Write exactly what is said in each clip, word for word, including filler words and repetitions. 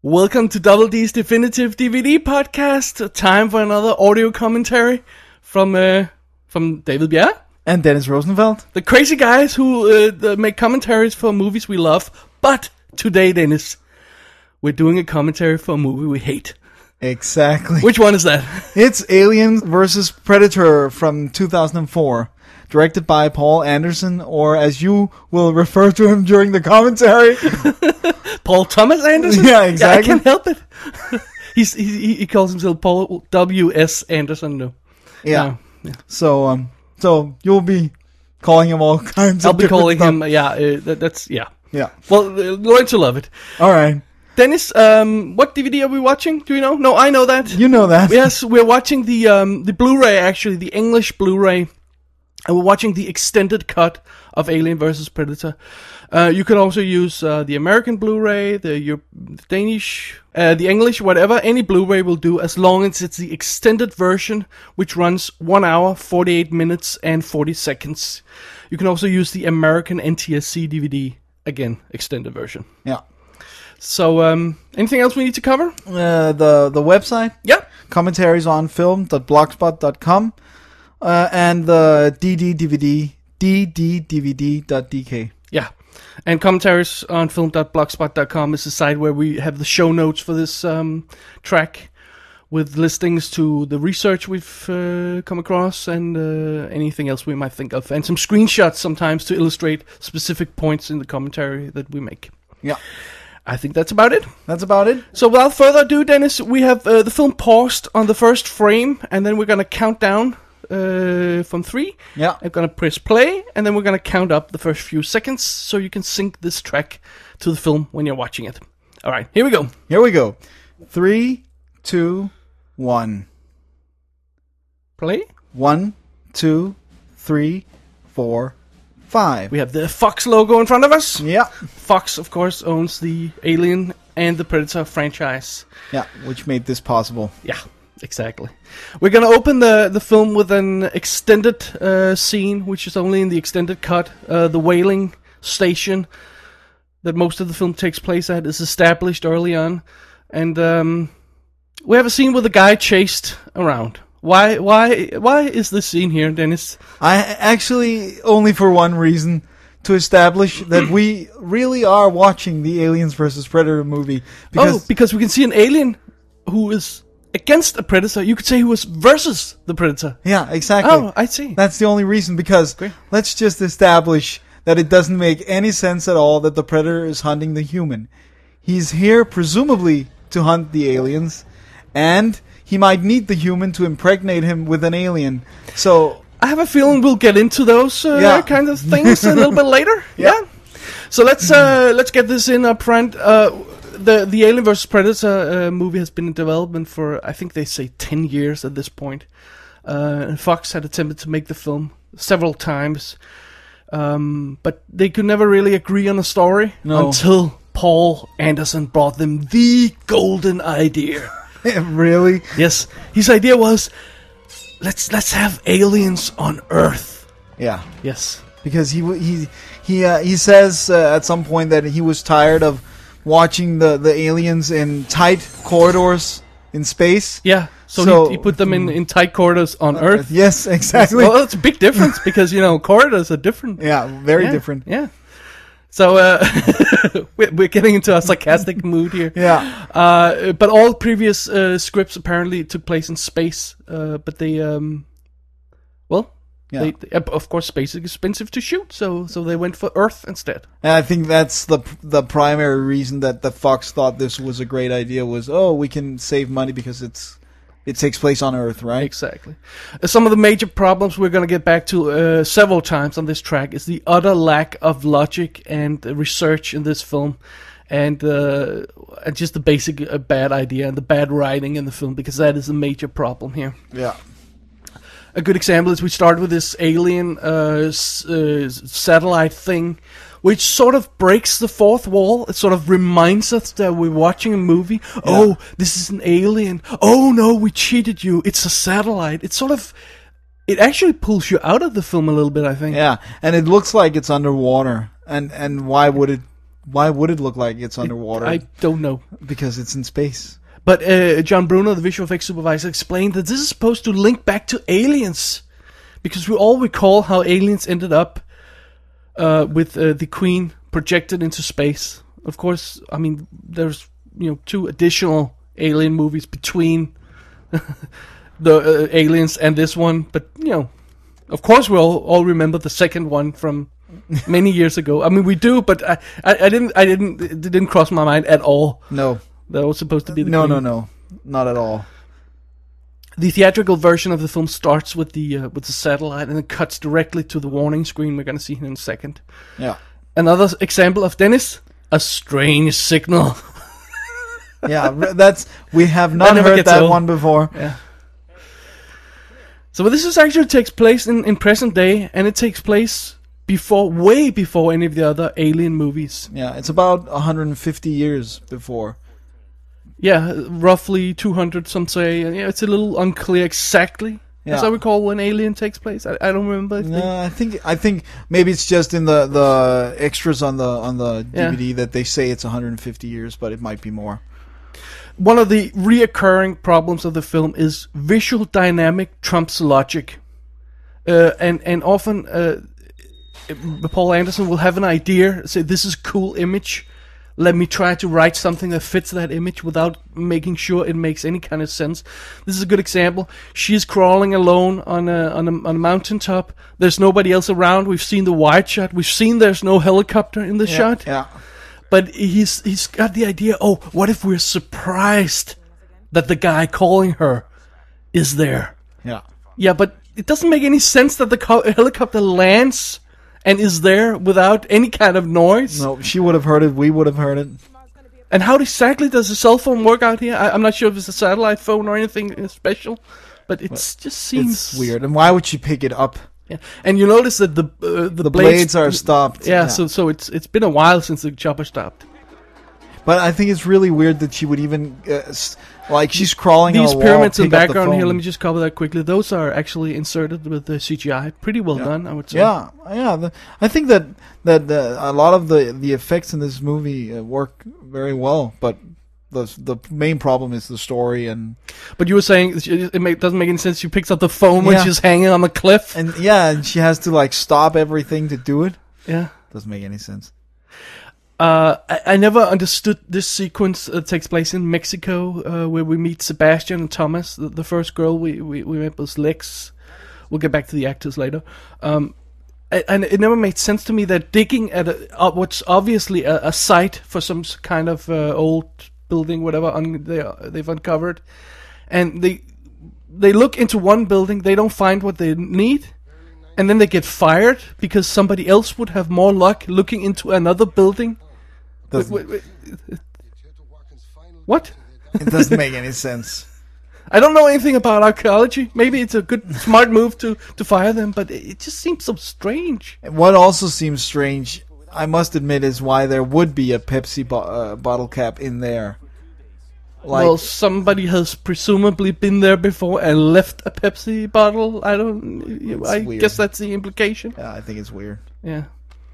Welcome to Double D's Definitive D V D podcast. Time for another audio commentary from uh, from David Bjerre and Dennis Rosenfeld, the crazy guys who uh, make commentaries for movies we love. But today, Dennis, we're doing a commentary for a movie we hate. Exactly. Which one is that? It's Alien versus Predator from two thousand four, directed by Paul Anderson, or as you will refer to him during the commentary, Paul Thomas Anderson? Yeah, exactly. Yeah, I can't help it. He's, he he calls himself Paul W S Anderson, no. Yeah. Uh, yeah. So um, so you'll be calling him all kinds. I'll of be calling stuff. him. Yeah, uh, that, that's yeah. Yeah. Well, uh, learn to love it. All right. Dennis, um, what D V D are we watching? Do you know? No, I know that. You know that. Yes, we're watching the um, the Blu-ray, actually, the English Blu-ray. And we're watching the extended cut of Alien versus. Predator. Uh, you can also use uh, the American Blu-ray, the, Euro- the Danish, uh, the English, whatever. Any Blu-ray will do, as long as it's the extended version, which runs one hour, forty-eight minutes, and forty seconds. You can also use the American N T S C D V D, again, extended version. Yeah. So, um, anything else we need to cover? Uh, the the website. Yeah. Commentaries on film dot blogspot dot com. Uh, and the D D D V D, D D D V D dot D K. Yeah. And commentaries on film dot blogspot dot com is the site where we have the show notes for this um, track with listings to the research we've uh, come across and uh, anything else we might think of. And some screenshots sometimes to illustrate specific points in the commentary that we make. Yeah. I think that's about it. That's about it. So without further ado, Dennis, we have uh, the film paused on the first frame, and then we're going to count down Uh, from three. Yeah. I'm gonna press play, and then we're gonna count up the first few seconds so you can sync this track to the film when you're watching it. Alright, here we go. Here we go. Three, two, one. Play. One, two, three, four, five. We have the Fox logo in front of us. Yeah. Fox, of course, owns the Alien and the Predator franchise. Yeah, which made this possible. Yeah. Exactly. We're going to open the, the film with an extended uh, scene, which is only in the extended cut. Uh, the whaling station that most of the film takes place at is established early on. And um, we have a scene with a guy chased around. Why Why? Why is this scene here, Dennis? I actually, only for one reason, to establish that we really are watching the Aliens versus. Predator movie. Because oh, because we can see an alien who is against a predator. You could say he was versus the predator. Yeah, exactly. Oh, I see. That's the only reason, because Great. Let's just establish that it doesn't make any sense at all that the predator is hunting the human. He's here presumably to hunt the aliens, and he might need the human to impregnate him with an alien. So I have a feeling we'll get into those uh, yeah. kind of things a little bit later. Yeah. yeah. So let's uh, let's get this in up front. Uh, The the Alien versus. Predator uh, movie has been in development for, I think they say, ten years at this point. Uh, and Fox had attempted to make the film several times, um, but they could never really agree on a story no. until Paul Anderson brought them the golden idea. Really? Yes, his idea was, let's let's have aliens on Earth. Yeah. Yes, because he he he uh, he says uh, at some point that he was tired of watching the, the aliens in tight corridors in space. Yeah, so, so he, he put them in, in tight corridors on uh, Earth. Yes, exactly. Well, it's a big difference because, you know, corridors are different. Yeah, very yeah, different. Yeah. So uh, we're, we're getting into a sarcastic mood here. Yeah. Uh, but all previous uh, scripts apparently took place in space. Uh, but they, um, well... Yeah. They, they, of course, space is expensive to shoot, so so they went for Earth instead. And I think that's the the primary reason that the Fox thought this was a great idea was, oh, we can save money because it's it takes place on Earth, right? Exactly. Uh, some of the major problems we're going to get back to uh, several times on this track is the utter lack of logic and uh, research in this film, and uh, and just the basic uh, bad idea and the bad writing in the film, because that is a major problem here. Yeah. A good example is we start with this alien uh, s- uh, satellite thing, which sort of breaks the fourth wall. It sort of reminds us that we're watching a movie. Yeah. Oh, this is an alien. Oh no, we cheated you. It's a satellite. It's sort of... It actually pulls you out of the film a little bit, I think. Yeah, and it looks like it's underwater. And, and why would it why would it look like it's underwater? I don't know. Because it's in space. But uh, John Bruno, the visual effects supervisor, explained that this is supposed to link back to Aliens, because we all recall how Aliens ended up uh, with uh, the Queen projected into space. Of course, I mean, there's you know two additional Alien movies between the uh, Aliens and this one, but you know, of course, we all, all remember the second one from many years ago. I mean, we do, but I, I, I didn't, I didn't, it didn't cross my mind at all. No. That was supposed to be the no, Queen. no, no, not at all. The theatrical version of the film starts with the uh, with the satellite and it cuts directly to the warning screen. We're going to see in a second. Yeah. Another example of Dennis, a strange signal. Yeah, that's we have not heard that old. one before. Yeah. So this is actually takes place in, in present day, and it takes place before, way before any of the other Alien movies. Yeah, it's about one hundred fifty years before. Yeah, roughly two hundred, some say. Yeah, it's a little unclear exactly. Yeah. As I recall, when Alien takes place, I, I don't remember. No, they... I think I think maybe it's just in the, the extras on the on the D V D yeah. that they say it's one hundred fifty years, but it might be more. One of the reoccurring problems of the film is visual dynamic trumps logic, uh, and and often uh, Paul Anderson will have an idea, say this is a cool image. Let me try to write something that fits that image without making sure it makes any kind of sense. This is a good example. She's crawling alone on a on a, on a mountaintop. There's nobody else around. We've seen the wide shot. We've seen there's no helicopter in the yeah, shot. Yeah. But he's he's got the idea. Oh, what if we're surprised that the guy calling her is there? Yeah. Yeah, but it doesn't make any sense that the co- helicopter lands and is there without any kind of noise. No, she would have heard it. We would have heard it. And how exactly does the cell phone work out here? I, I'm not sure if it's a satellite phone or anything special, but it just seems it's weird. And why would she pick it up? Yeah, and you notice that the uh, the, the blades, blades are stopped. Yeah, yeah, so so it's it's been a while since the chopper stopped. But I think it's really weird that she would even uh, like she's crawling. These on a pyramids wall, in the background here. Let me just cover that quickly. Those are actually inserted with the C G I. Pretty well yeah. done, I would say. Yeah, yeah. The, I think that that uh, a lot of the the effects in this movie uh, work very well, but. The the main problem is the story. And but you were saying it make, doesn't make any sense. She picks up the phone when yeah. she's hanging on the cliff, and yeah, and she has to like stop everything to do it. Yeah, doesn't make any sense. Uh, I, I never understood this sequence that takes place in Mexico, uh, where we meet Sebastian and Thomas. The, the first girl we, we we met was Lex. We'll get back to the actors later. Um, and it never made sense to me that digging at a, uh, what's obviously a, a site for some kind of uh, old building, whatever un- they they've uncovered, and they they look into one building, they don't find what they need, and then they get fired because somebody else would have more luck looking into another building. Wait, wait, wait. What? It doesn't make any sense. I don't know anything about archaeology. Maybe it's a good, smart move to, to fire them, but it just seems so strange. What also seems strange, I must admit, is why there would be a Pepsi bo- uh, bottle cap in there. Like, well, somebody has presumably been there before and left a Pepsi bottle. I don't. I weird. guess that's the implication. Yeah, I think it's weird. Yeah.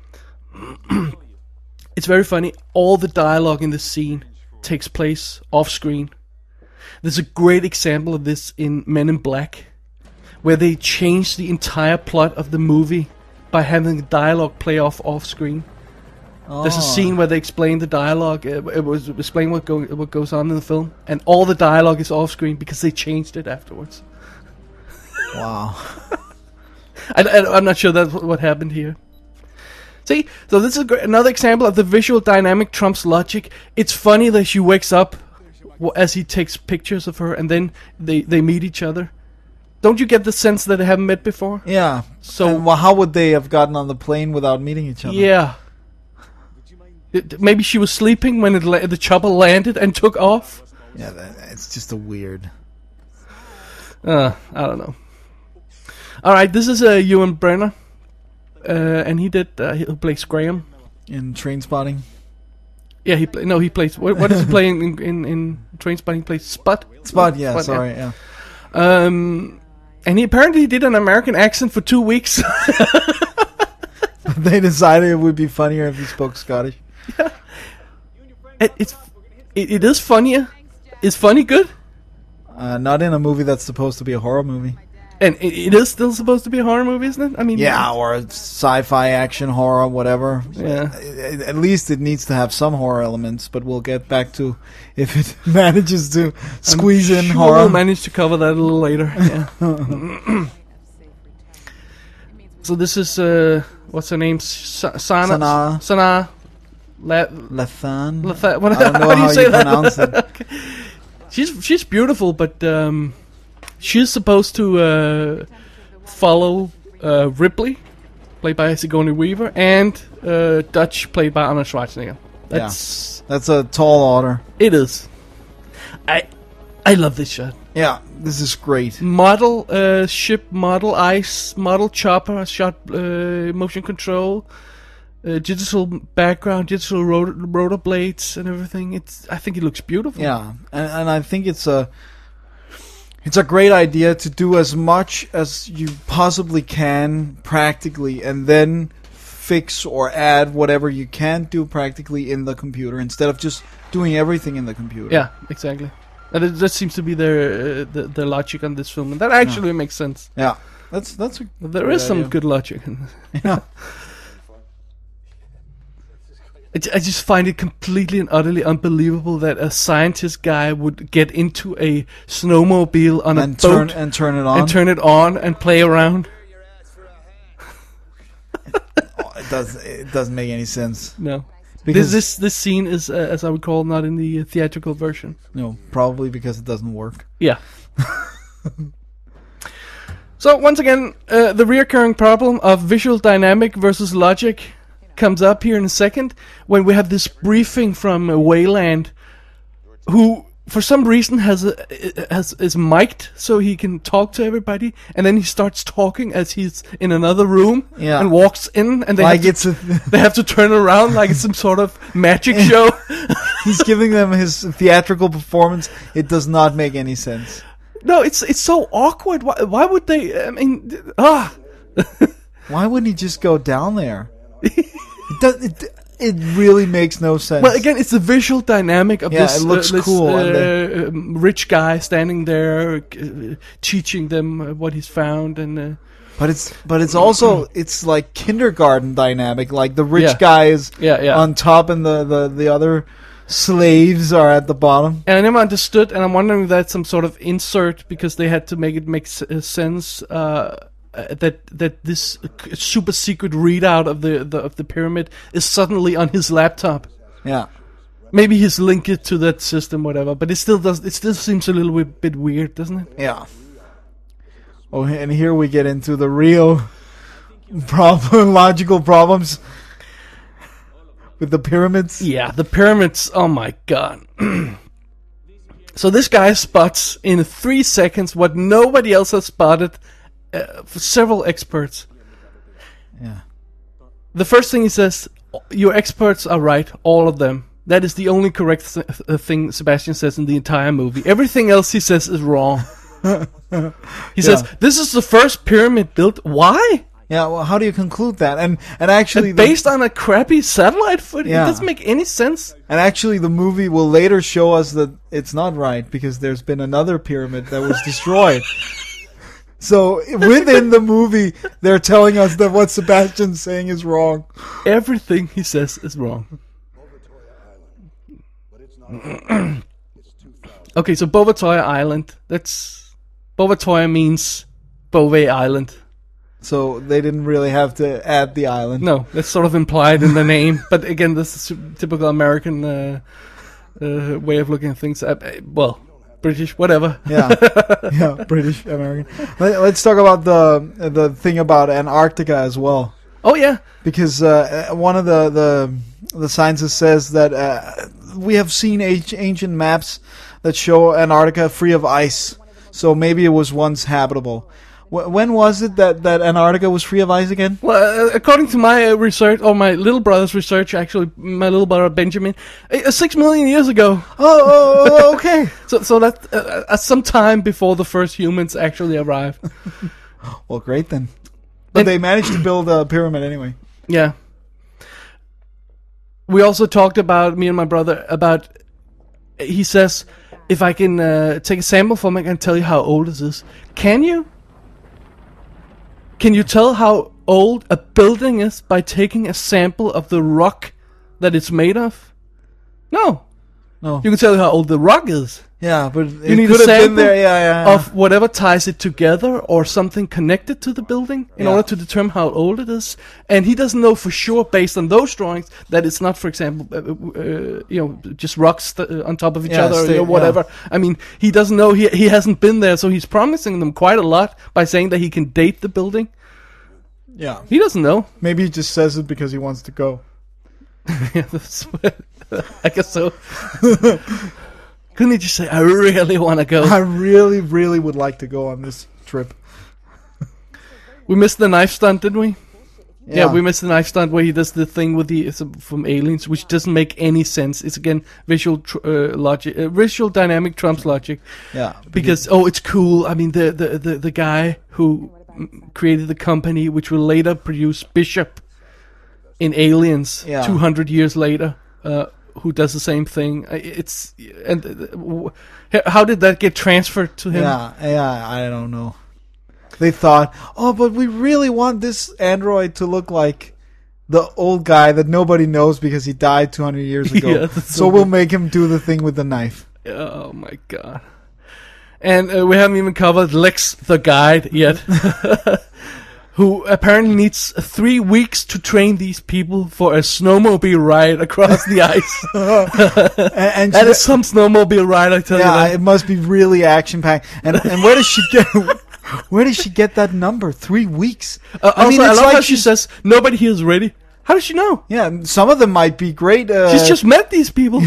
It's very funny. All the dialogue in this scene takes place off screen. There's a great example of this in Men in Black, where they changed the entire plot of the movie by having the dialogue play off off screen. Oh. There's a scene where they explain the dialogue. It, it was explain what go, what goes on in the film, and all the dialogue is off screen because they changed it afterwards. Wow. I, I, I'm not sure that's what happened here. See, so this is great, another example of the visual dynamic trumps logic. It's funny that she wakes up as he takes pictures of her, and then they, they meet each other. Don't you get the sense that they haven't met before? Yeah. So, and, well, how would they have gotten on the plane without meeting each other? Yeah. It, maybe she was sleeping when it la- the chopper landed and took off. Yeah, that, it's just a weird. Uh, I don't know. All right, this is uh, Ewan Brenner, uh, and he did. Uh, he plays Graham in Trainspotting. Yeah, he play, no, he plays. What, what is he playing in in, in Trainspotting? He plays Spot. Spot, yeah. Spot, sorry, yeah. yeah. Um, and he apparently did an American accent for two weeks. They decided it would be funnier if he spoke Scottish. Yeah. it, it's it, it is funnier. Is funny good? Uh, not in a movie that's supposed to be a horror movie. And it, it is still supposed to be a horror movie, isn't it? I mean, Yeah, or a sci-fi action horror, whatever. Yeah. At at least it needs to have some horror elements, but we'll get back to if it manages to squeeze in sure horror. We'll manage to cover that a little later. Yeah. So this is uh, what's her name? Sa- Sana. Sanaa. Sanaa. La- Lathan? Latha- what, I don't know how do you how say you that? pronounce it. Okay. She's she's beautiful, but um, she's supposed to uh, follow uh, Ripley, played by Sigourney Weaver, and uh, Dutch, played by Arnold Schwarzenegger. That's That's a tall order. it is. I I love this shot. Yeah, this is great. Model uh, ship, model ice, model chopper, shot uh, motion control, uh, digital background, digital rotor, rotor blades, and everything. It's I think it looks beautiful. Yeah, and, and I think it's a it's a great idea to do as much as you possibly can practically, and then fix or add whatever you can't do practically in the computer instead of just doing everything in the computer. Yeah, exactly. And it, that seems to be their uh, the, the logic on this film, and that actually makes sense. Yeah, that's that's a There good is some idea. good logic in this. Yeah. I, ju- I just find it completely and utterly unbelievable that a scientist guy would get into a snowmobile on and a boat turn and turn it on. and turn it on and play around. Oh, it does it doesn't make any sense. No. Because This, this this scene is, uh, as I recall, not in the uh, theatrical version. no, probably because it doesn't work. Yeah. So once again, uh, the reoccurring problem of visual dynamic versus logic comes up here in a second when we have this briefing from uh, Wayland, who for some reason has a, has is mic'd so he can talk to everybody, and then he starts talking as he's in another room Yeah. and walks in, and they Like have to, it's a, they have to turn around like it's some sort of magic show. he's giving them his theatrical performance. It does not make any sense. No, it's it's so awkward. Why, why would they? I mean, ah. Why wouldn't he just go down there? It does. It, it really makes no sense. Well, again, it's the visual dynamic of Yeah, this, it looks uh, this cool, uh, and um, rich guy standing there, uh, teaching them uh, what he's found, and uh, but it's but it's also it's like kindergarten dynamic. Like the rich Yeah. guy is Yeah, yeah. on top, and the, the, the other slaves are at the bottom. and I never understood. And I'm wondering if that's some sort of insert because they had to make it make s- uh, sense. Uh, uh, that that this uh, super secret readout of the, the of the pyramid is suddenly on his laptop. Yeah. Maybe he's linked it to that system, whatever. But it still does. It still seems a little bit, bit weird, doesn't it? Yeah. Oh, and here we get into the real problem, logical problems with the pyramids. Yeah, the pyramids. Oh my god. So this guy spots in three seconds what nobody else has spotted uh, for several experts. Yeah. The first thing he says, your experts are right, all of them. That is the only correct th- uh, thing Sebastian says in the entire movie. Everything else he says is wrong. He says, this is the first pyramid built. Why? Yeah, well, how do you conclude that? And and actually, And the, based on a crappy satellite footage. Yeah. It doesn't make any sense. and actually, the movie will later show us that it's not right because there's been another pyramid that was destroyed. So within the movie, they're telling us that what Sebastian's saying is wrong. Everything he says is wrong. Okay, so Bovatoya Island. That's Bovatoya means Bove Island. So they didn't really have to add the island. No, that's sort of implied in the name. But again, this is typical American uh, uh, way of looking at things. Uh, uh, well, British, whatever. Yeah, yeah, British American. Let, let's talk about the the thing about Antarctica as well, Oh yeah, because uh, one of the the the scientists says that uh, we have seen age, ancient maps that show Antarctica free of ice, so maybe it was once habitable. Wh- when was it that, that Antarctica was free of ice again? well, uh, according to my uh, research, or my little brother's research, actually, my little brother Benjamin, uh, six million years ago. Oh, oh, oh, okay. So, so that uh, at some time before the first humans actually arrived. Well, great then. But And- they managed to build a pyramid anyway. Yeah. we also talked about, me and my brother, about, he says, if I can uh, take a sample from it, I can tell you how old it is. Can you? Can you tell how old a building is by taking a sample of the rock that it's made of? No. No. You can tell how old the rock is. Yeah, but You it need a could have been sample there. Yeah, yeah, yeah. of whatever ties it together or something connected to the building in Yeah. order to determine how old it is. And he doesn't know for sure, based on those drawings, that it's not, for example, uh, uh, you know, just rocks st- uh, on top of each Yeah, other or stay- you know, whatever. I mean, he doesn't know. He he hasn't been there, so he's promising them quite a lot by saying that he can date the building. Yeah. He doesn't know. Maybe he just says it because he wants to go. Yeah, that's what- I guess so. Couldn't he just say, "I really want to go"? I really, really would like to go on this trip. We missed the knife stunt, didn't we? Yeah. we missed the knife stunt where he does the thing with the it's from Aliens, which doesn't make any sense. It's again visual tr- uh, logic, uh, visual dynamic trumps logic. Yeah. Because oh, it's cool. I mean, the the the, the guy who mm, created the company, which will later produce Bishop in Aliens, Yeah. two hundred years later, uh, who does the same thing. I- It's and uh, w- how did that get transferred to him? Yeah, yeah, I don't know. They thought, oh, but we really want this android to look like the old guy that nobody knows because he died two hundred years ago. Yeah, that's so so we'll good. make him do the thing with the knife. Oh my god. And uh, we haven't even covered Lex the guide yet. Who apparently needs three weeks to train these people for a snowmobile ride across the ice. And, and That she- is some snowmobile ride, I tell yeah, you that. it must be really action packed. And and where does she get? Where does she get that number? Three weeks. Uh, I mean, also, I it's love like how she she's- says, nobody here is ready. How does she know? Yeah, some of them might be great. Uh, She's just met these people.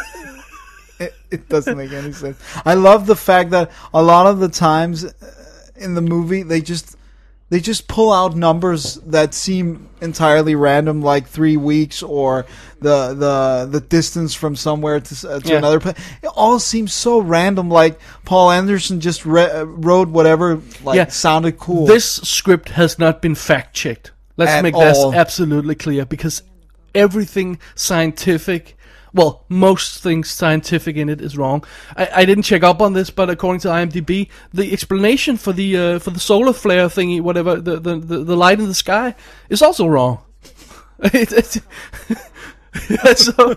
It, it doesn't make any sense. I love the fact that a lot of the times uh, in the movie they just they just pull out numbers that seem entirely random, like three weeks or the the the distance from somewhere to uh, to Yeah. another place. It all seems so random. Like Paul Anderson just re- uh, wrote whatever like Yeah. sounded cool. This script has not been fact checked. Let's At make all. that absolutely clear, because everything scientific, well, most things scientific in it is wrong. I, I didn't check up on this, but according to IMDb, the explanation for the uh, for the solar flare thingy, whatever, the, the the the light in the sky, is also wrong. it, it's, so,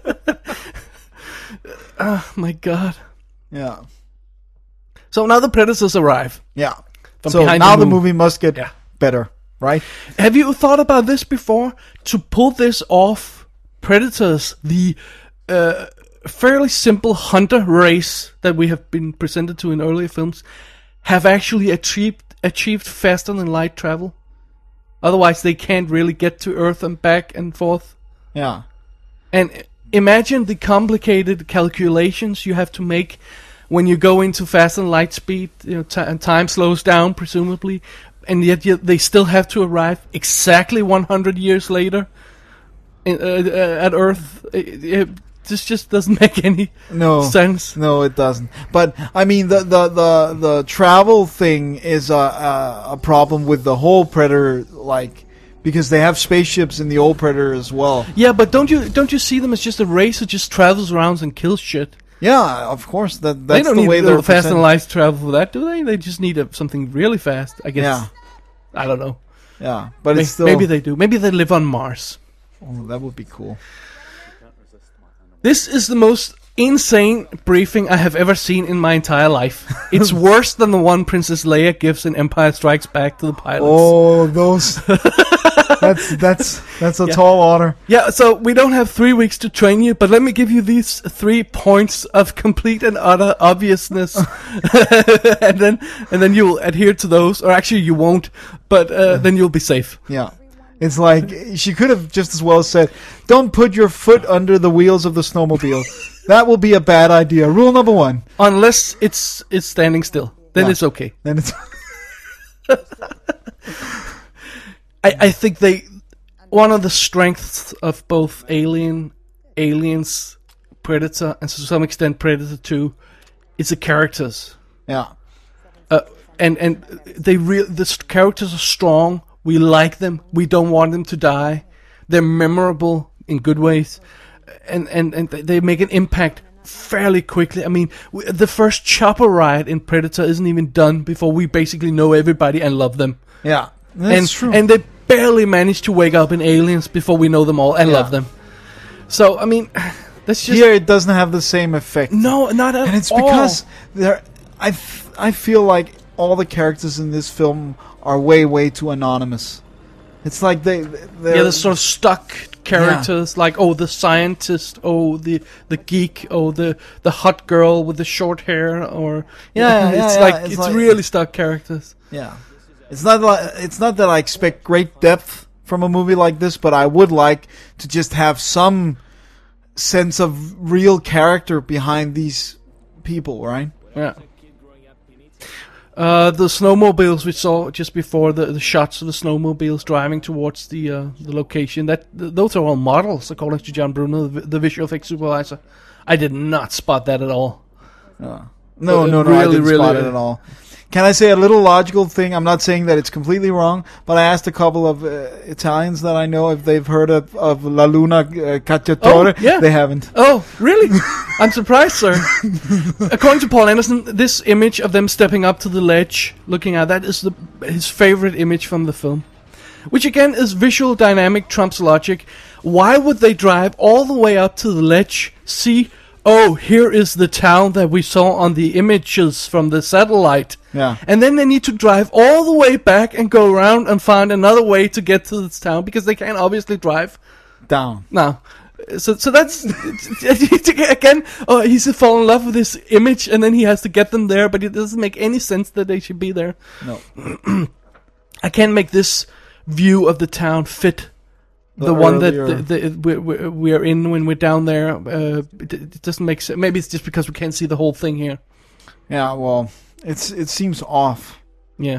oh my god! yeah, So now the predators arrive. yeah. From So behind now the the moon. movie must get Yeah. better, right? Have you thought about this before? To pull this off, Predators, the uh, fairly simple hunter race that we have been presented to in earlier films, have actually achieved achieved faster than light travel. Otherwise, they can't really get to Earth and back and forth. Yeah. And imagine the complicated calculations you have to make when you go into faster than light speed. You know, t- and time slows down presumably, and yet, yet they still have to arrive exactly one hundred years later in, uh, uh, at Earth. It, it, this just doesn't make any No. sense. No, it doesn't. But I mean, the the the, the travel thing is a, a a problem with the whole Predator, like because they have spaceships in the old Predator as well. Yeah, but don't you don't you see them as just a race that just travels around and kills shit? Yeah, of course. That They that's don't the need way the they're fast and presented. light travel for that, do they? They just need a, something really fast. I guess. Yeah, I don't know. yeah. But May- it's still Maybe they do. Maybe they live on Mars. oh, that would be cool. This is the most insane briefing I have ever seen in my entire life. It's worse than the one Princess Leia gives in Empire Strikes Back to the pilots. Oh, those. that's that's that's a Yeah. tall order. Yeah, so we don't have three weeks to train you, but let me give you these three points of complete and utter obviousness, and then and then you'll adhere to those, or actually you won't, but uh, then you'll be safe. Yeah. It's like she could have just as well said, "Don't put your foot under the wheels of the snowmobile. That will be a bad idea." Rule number one. Unless it's it's standing still, then Yeah. it's okay. Then it's I, I think they one of the strengths of both Alien, Aliens, Predator, and to some extent Predator two, is the characters. yeah. Uh, and and they real the s- characters are strong. We like them. We don't want them to die. They're memorable. in good ways, and and and they make an impact fairly quickly. I mean, we, the first chopper ride in Predator isn't even done before we basically know everybody and love them. Yeah, that's and, true. And they barely manage to wake up in Aliens before we know them all and Yeah. love them. So I mean, that's just here it doesn't have the same effect. no, not at and it's all. because there, I, f- I feel like all the characters in this film are way, way too anonymous. It's like they, they're, yeah, the sort of stuck characters, like oh, the scientist, oh, the the geek, oh, the the hot girl with the short hair, or Yeah, yeah, it's yeah, like it's it's, like- really stuck characters. yeah. It's not like it's not that I expect great depth from a movie like this, but I would like to just have some sense of real character behind these people, right? Yeah. Uh, the snowmobiles we saw just before, the, the shots of the snowmobiles driving towards the uh, the location, that th- those are all models, according to John Bruno, the, the visual effects supervisor. I did not spot that at all. Uh, no, Uh, no, no, I really, didn't really- spot it at all. Can I say a little logical thing? I'm not saying that it's completely wrong, but I asked a couple of uh, Italians that I know if they've heard of, of La Luna uh, Cacciatore. Oh, yeah. They haven't. Oh, really? I'm surprised, sir. According to Paul Anderson, this image of them stepping up to the ledge, looking at that, is the, his favorite image from the film. Which again is visual dynamic trumps logic. Why would they drive all the way up to the ledge, see, oh, here is the town that we saw on the images from the satellite, Yeah. and then they need to drive all the way back and go around and find another way to get to this town, because they can't obviously drive. Down. No. So so that's again, oh, he's fallen in love with this image, and then he has to get them there, but it doesn't make any sense that they should be there. No. I can't make this view of the town fit the, The one that earlier- the, the, we, we, we are in when we're down there. Uh, it, it doesn't make sense. Maybe it's just because we can't see the whole thing here. Yeah, well, it's it seems off. Yeah.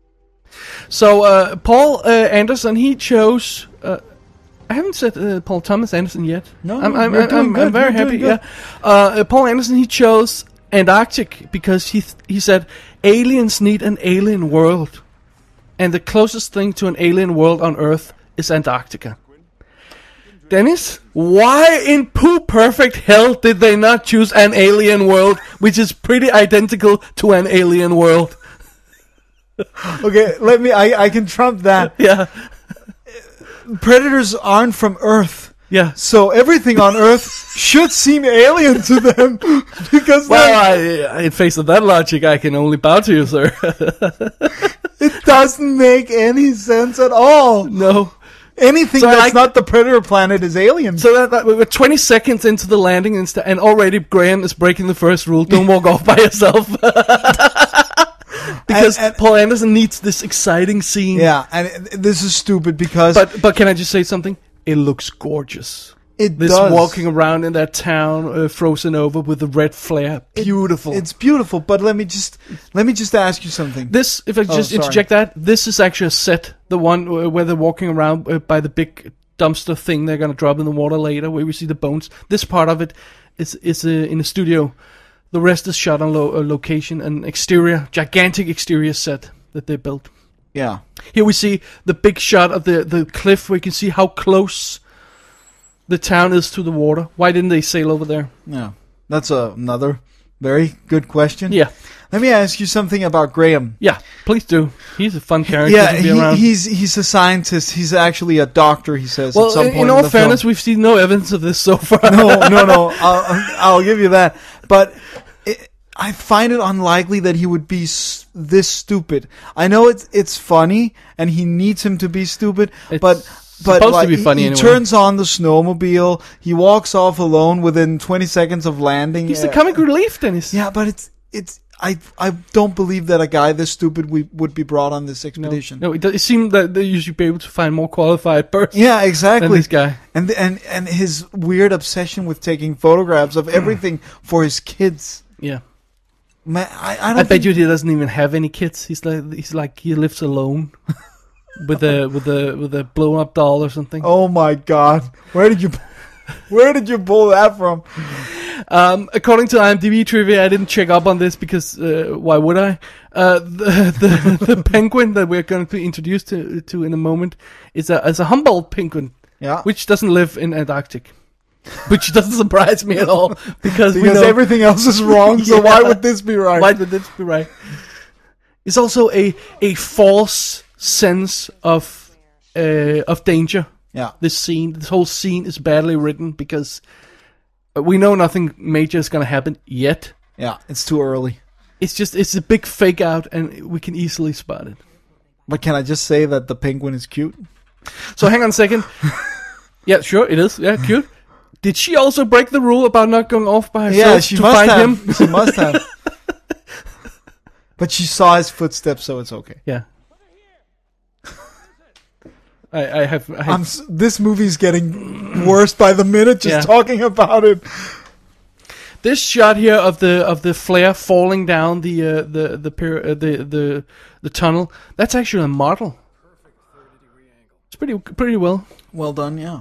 So uh, Paul uh, Anderson, he chose. Uh, I haven't said uh, Paul Thomas Anderson yet. No, I'm I'm, you're I'm, doing I'm, good, I'm very you're happy. doing Yeah. good. Uh, uh, Paul Anderson, he chose Antarctic because he th- he said aliens need an alien world, and the closest thing to an alien world on Earth is Antarctica. Dennis, why in poo perfect hell did they not choose an alien world, which is pretty identical to an alien world? Okay, let me. I I can trump that. Yeah, Predators aren't from Earth, yeah. so everything on Earth should seem alien to them because Well, they're- I, in face of that logic, I can only bow to you, sir. it doesn't make any sense at all. No. Anything So that's I- not the Predator planet is alien. So that, that we're twenty seconds into the landing, and, st- and already Graham is breaking the first rule: don't walk off by yourself. Because And- and- Paul Anderson needs this exciting scene. Yeah, and it- this is stupid because But but can I just say something? It looks gorgeous. it This does. walking around in that town, uh, frozen over with the red flare, It- beautiful. It's beautiful, but let me just let me just ask you something. This, if I Oh, just sorry. interject that, this is actually a set. The one where where they're walking around uh, by the big dumpster thing they're gonna drop in the water later, where we see the bones. This part of it is is uh, in a studio. The rest is shot on lo- uh, location, an exterior, gigantic exterior set that they built. Yeah, Here we see the big shot of the the cliff, where you can see how close the town is to the water. Why didn't they sail over there? yeah, that's a, another very good question. Yeah, Let me ask you something about Graham. yeah. Please do. He's a fun character Yeah, to be he, around. he's he's a scientist. He's actually a doctor. He says well, at some in, point in all the fairness, film. we've seen no evidence of this so far. no, no, no. I'll, I'll give you that. But it, I find it unlikely that he would be s- this stupid. I know it's it's funny, and he needs him to be stupid. It's but but supposed to like, be funny he, he anyway. turns on the snowmobile. He walks off alone within twenty seconds of landing. He's the Uh, comic relief, Dennis. Yeah, but it's it's. I I don't believe that a guy this stupid we, would be brought on this No, expedition. no, it, does, it seemed that they you should be able to find more qualified person Yeah, than exactly. this guy. And and and his weird obsession with taking photographs of everything for his kids. Yeah, Man, I, I don't I bet think- you he doesn't even have any kids. He's like he's like he lives alone with a with a with a blown up doll or something. Oh my God! Where did you, where did you pull that from? Um, according to IMDb trivia, I didn't check up on this because uh, why would I? Uh, the, the the penguin that we're going to be introduced to to in a moment is a is a Humboldt penguin. Yeah. which doesn't live in Antarctic. Which doesn't surprise me at all, because, we Because know, everything else is wrong, so Yeah. why would this be right? why would this be right? It's also a a false sense of uh, of danger. Yeah. This scene, this whole scene is badly written because we know nothing major is going to happen yet. Yeah, it's too early. It's just it's a big fake out, and we can easily spot it. But can I just say that the penguin is cute? So hang on a second. Yeah, sure, it is. Yeah, cute. Did she also break the rule about not going off by herself Yeah, she to must find have. him? She must have. But she saw his footsteps, so it's okay. Yeah. I, I have. I have I'm. s- This movie's getting worse by the minute just Yeah. talking about it. this shot here of the of the flare falling down the uh, the the, pyra- uh, the the the tunnel. That's actually a model. It's pretty pretty well. Well done, yeah.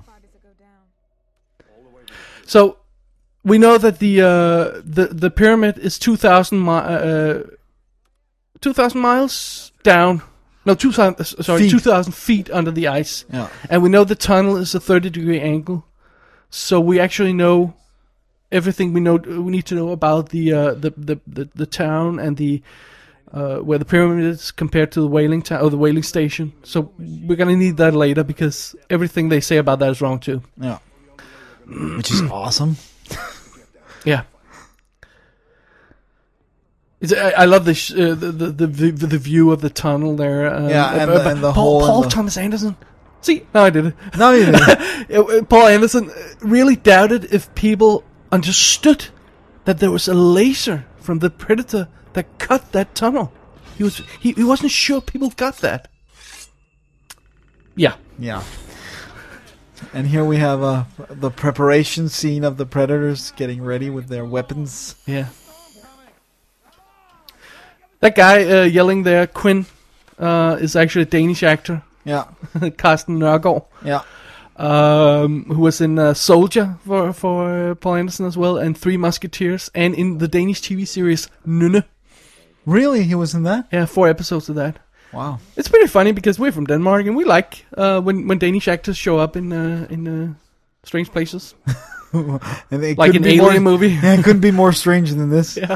So we know that the uh, the the pyramid is two thousand mi- uh, two thousand miles down. No, two thousand. Sorry, Feet. two thousand feet under the ice. Yeah. And we know the tunnel is a thirty degree angle, so we actually know everything we know we need to know about the uh, the, the, the the town and the uh, where the pyramid is compared to the whaling town or the whaling station. So we're gonna need that later because everything they say about that is wrong too. Yeah. Which is awesome. Yeah. It's, I, I love this, uh, the, the the the view of the tunnel there. Uh, Yeah, and uh, the- and the Paul, hole Paul and the- Thomas Anderson. See, now I did it. No, you didn't. Uh, uh, Paul Anderson really doubted if people understood that there was a laser from the Predator that cut that tunnel. He was he, he wasn't sure people got that. Yeah. Yeah. And here we have uh, the preparation scene of the Predators getting ready with their weapons. Yeah. That guy uh, yelling there, Quinn, uh, is actually a Danish actor, Yeah. Carsten Nørgaard, Yeah. um, who was in uh, Soldier for for uh, Paul Anderson as well, and Three Musketeers, and in the Danish T V series Nynne. Really? He was in that? Yeah, four episodes of that. Wow. It's pretty funny because we're from Denmark and we like uh, when when Danish actors show up in uh, in uh, strange places, And it like couldn't an be alien more, movie. Yeah, it couldn't be more strange than this. Yeah.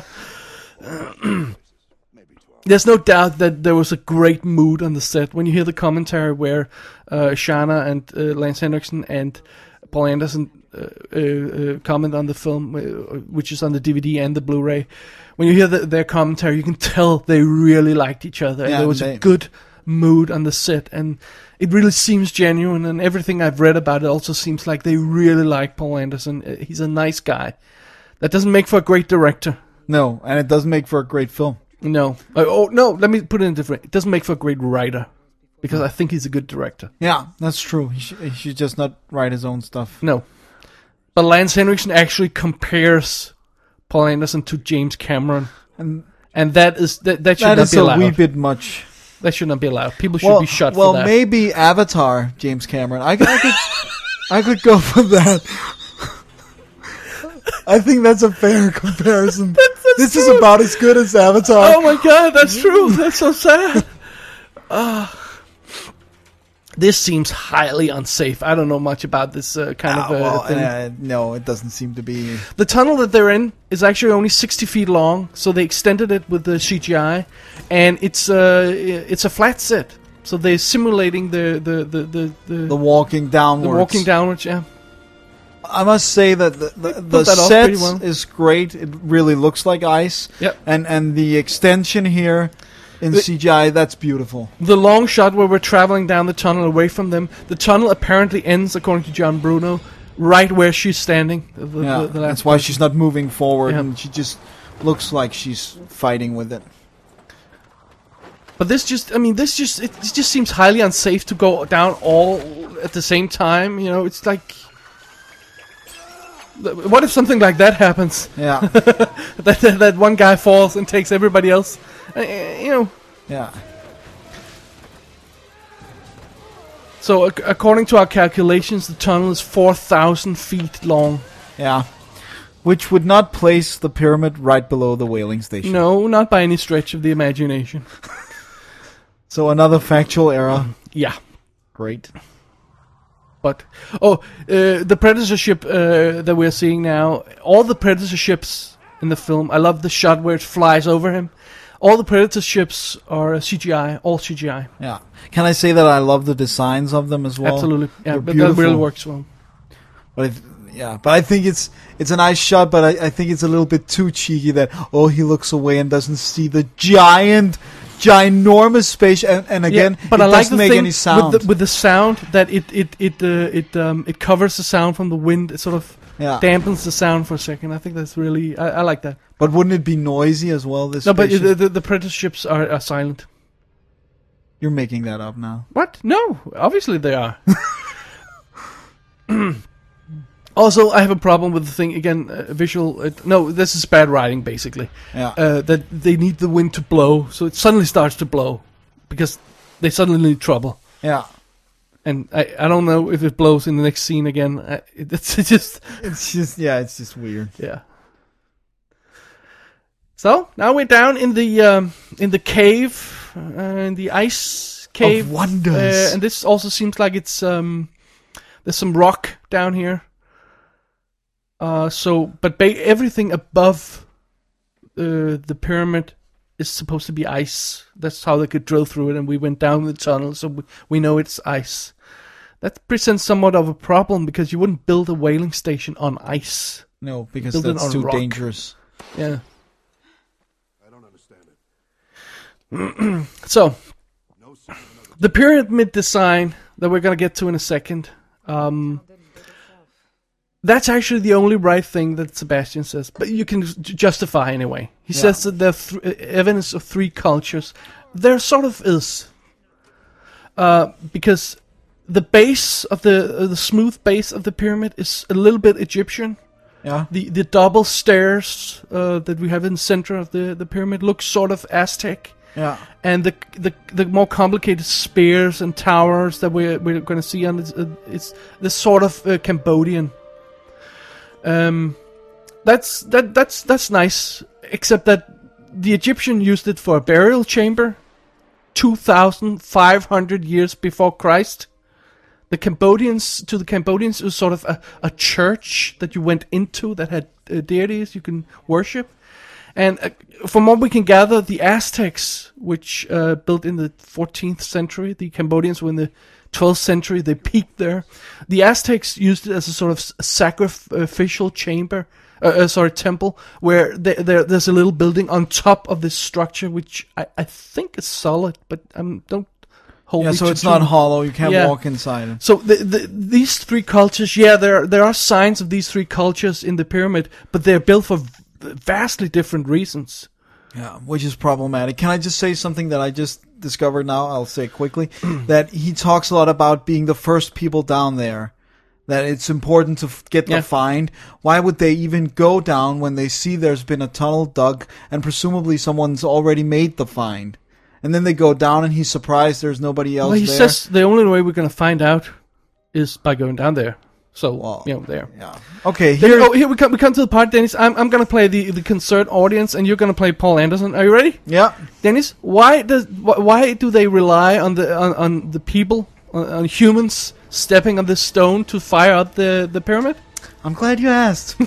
There's no doubt that there was a great mood on the set when you hear the commentary where uh, Shana and uh, Lance Henriksen and Paul Anderson uh, uh, uh, comment on the film, uh, which is on the D V D and the Blu-ray. When you hear the, their commentary, you can tell they really liked each other. And Yeah, there was they- a good mood on the set, and it really seems genuine. And everything I've read about it also seems like they really like Paul Anderson. Uh, He's a nice guy. That doesn't make for a great director. No, and it doesn't make for a great film. No. Uh, oh, no, let me put it in different. It doesn't make for a great writer. Because I think he's a good director. Yeah, that's true. He, sh- he should just not write his own stuff. No. But Lance Henriksen actually compares Paul Anderson to James Cameron. And And that is that, that should that not is be a allowed. wee bit much. That should not be allowed. People should Well, be shot well, for that. maybe Avatar, James Cameron. I, I could, I could go for that. I think that's a fair comparison. That's- that's this is true. about as good as Avatar. Oh my god, that's true. That's so sad. Ah. This seems highly unsafe. I don't know much about this uh, kind Ah, of uh, well, thing. uh, no, it doesn't seem to be. The tunnel that they're in is actually only sixty feet long, so they extended it with the C G I, and it's uh, it's a flat set, so they're simulating the the the the, the, The walking downwards. the walking downwards. Yeah, I must say that the, the, the pulled that off set pretty well. is great. It really looks like ice. Yep. And and the extension here in The- C G I, that's beautiful. the long shot where we're traveling down the tunnel away from them. The tunnel apparently ends, according to John Bruno, right where she's standing. The, the, Yeah, the, the last that's why she's not moving forward, Yeah. and she just looks like she's fighting with it. But this just, I mean, this just, it just seems highly unsafe to go down all at the same time. You know, it's like, what if something like that happens? Yeah, that, that that one guy falls and takes everybody else. Uh, you know. yeah. So ac- according to our calculations, the tunnel is four thousand feet long. Yeah. Which would not place the pyramid right below the whaling station. No, not by any stretch of the imagination. So another factual error. Yeah. Great. But oh, uh, the Predator ship uh, that we're seeing now, all the Predator ships in the film, I love the shot where it flies over him. All the Predator ships are C G I, all C G I. Yeah. Can I say that I love the designs of them as well? Absolutely, yeah, They're but beautiful. that really works well. But if, yeah, but I think it's it's a nice shot, but I, I think it's a little bit too cheeky that, oh, he looks away and doesn't see the giant, ginormous space, and, and again, yeah, but it I like doesn't the make thing any sound. with the, with the sound that it it it uh, it um, it covers the sound from the wind. It sort of Yeah. dampens the sound for a second. I think that's really I, I like that. But wouldn't it be noisy as well? This No, but spaceship? the, the the Predator ships are, are silent. You're making that up now. What? No, obviously they are. Also, I have a problem with the thing again. Uh, visual. Uh, no, this is bad writing, basically. Yeah. Uh, that they need the wind to blow, so it suddenly starts to blow because they suddenly need trouble. Yeah. And I, I don't know if it blows in the next scene again. I, it, it's just It's just yeah, it's just weird. yeah. So now we're down in the um, in the cave, uh, in the ice cave. Of wonders. Uh, and this also seems like it's um, there's some rock down here. Uh, so, but ba- everything above uh, the pyramid is supposed to be ice. That's how they could drill through it, and we went down the tunnel, so we, we know it's ice. That presents somewhat of a problem because you wouldn't build a whaling station on ice. No, because Build it that's on too rock. dangerous. Yeah. I don't understand it. So, the pyramid design that we're gonna get to in a second. Um, that's actually the only right thing that Sebastian says, but you can j- justify anyway. He Yeah. says that there are th- uh, evidence of three cultures. There sort of is, uh, because the base of the uh, the smooth base of the pyramid is a little bit Egyptian. Yeah. The the double stairs uh, that we have in the center of the, the pyramid looks sort of Aztec. Yeah. And the the the more complicated spears and towers that we're we're going to see on this, uh, it's this sort of uh, Cambodian. Um, that's that that's that's nice. Except that the Egyptian used it for a burial chamber, two thousand five hundred years before Christ. The Cambodians to the Cambodians it was sort of a, a church that you went into that had uh, deities you can worship. And uh, from what we can gather, the Aztecs, which uh, built in the fourteenth century, the Cambodians were in the twelfth century, they peaked there. The Aztecs used it as a sort of sacrificial chamber, uh, uh, sorry, temple, where they, there, there's a little building on top of this structure, which I, I think is solid, but um, don't hold Yeah, me so to it's too- not hollow. You can't Yeah. walk inside it. So the, the, these three cultures, yeah, there there are signs of these three cultures in the pyramid, but they're built for v- vastly different reasons. Yeah, which is problematic. Can I just say something that I just discovered now? I'll say it quickly. That he talks a lot about being the first people down there. That it's important to f- get Yeah. the find. Why would they even go down when they see there's been a tunnel dug and presumably someone's already made the find? And then they go down and he's surprised there's nobody else Well, he there. says the only way we're going to find out is by going down there. So, Well, you know, there. Yeah. Okay, Then- here. oh, here we come. We come to the part, Dennis. I'm I'm going to play the the concert audience, and you're going to play Paul Anderson. Are you ready, Yeah. Dennis? Why does wh- why do they rely on the on, on the people on, on humans stepping on this stone to fire out the the pyramid? I'm glad you asked.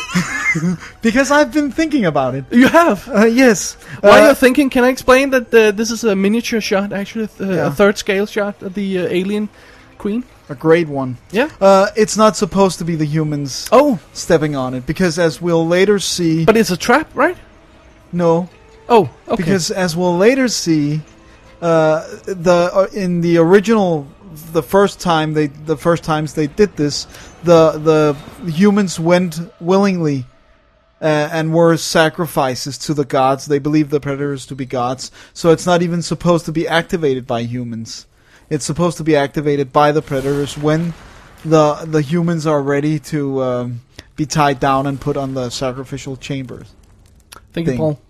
Because I've been thinking about it. You have. Uh, yes. While Uh, you're thinking, can I explain that uh, this is a miniature shot, actually, th- Yeah. a third scale shot of the uh, alien queen? a great one. Yeah. Uh, it's not supposed to be the humans Oh, stepping on it, because as we'll later see... but it's a trap, right? no, Oh, okay. because as we'll later see, uh, the uh, in the original, the first time they, the first times they did this, the the humans went willingly uh, and were sacrifices to the gods. They believed the predators to be gods, so it's not even supposed to be activated by humans. It's supposed to be activated by the predators when the the humans are ready to um, be tied down and put on the sacrificial chambers. Thank you, thing. Paul.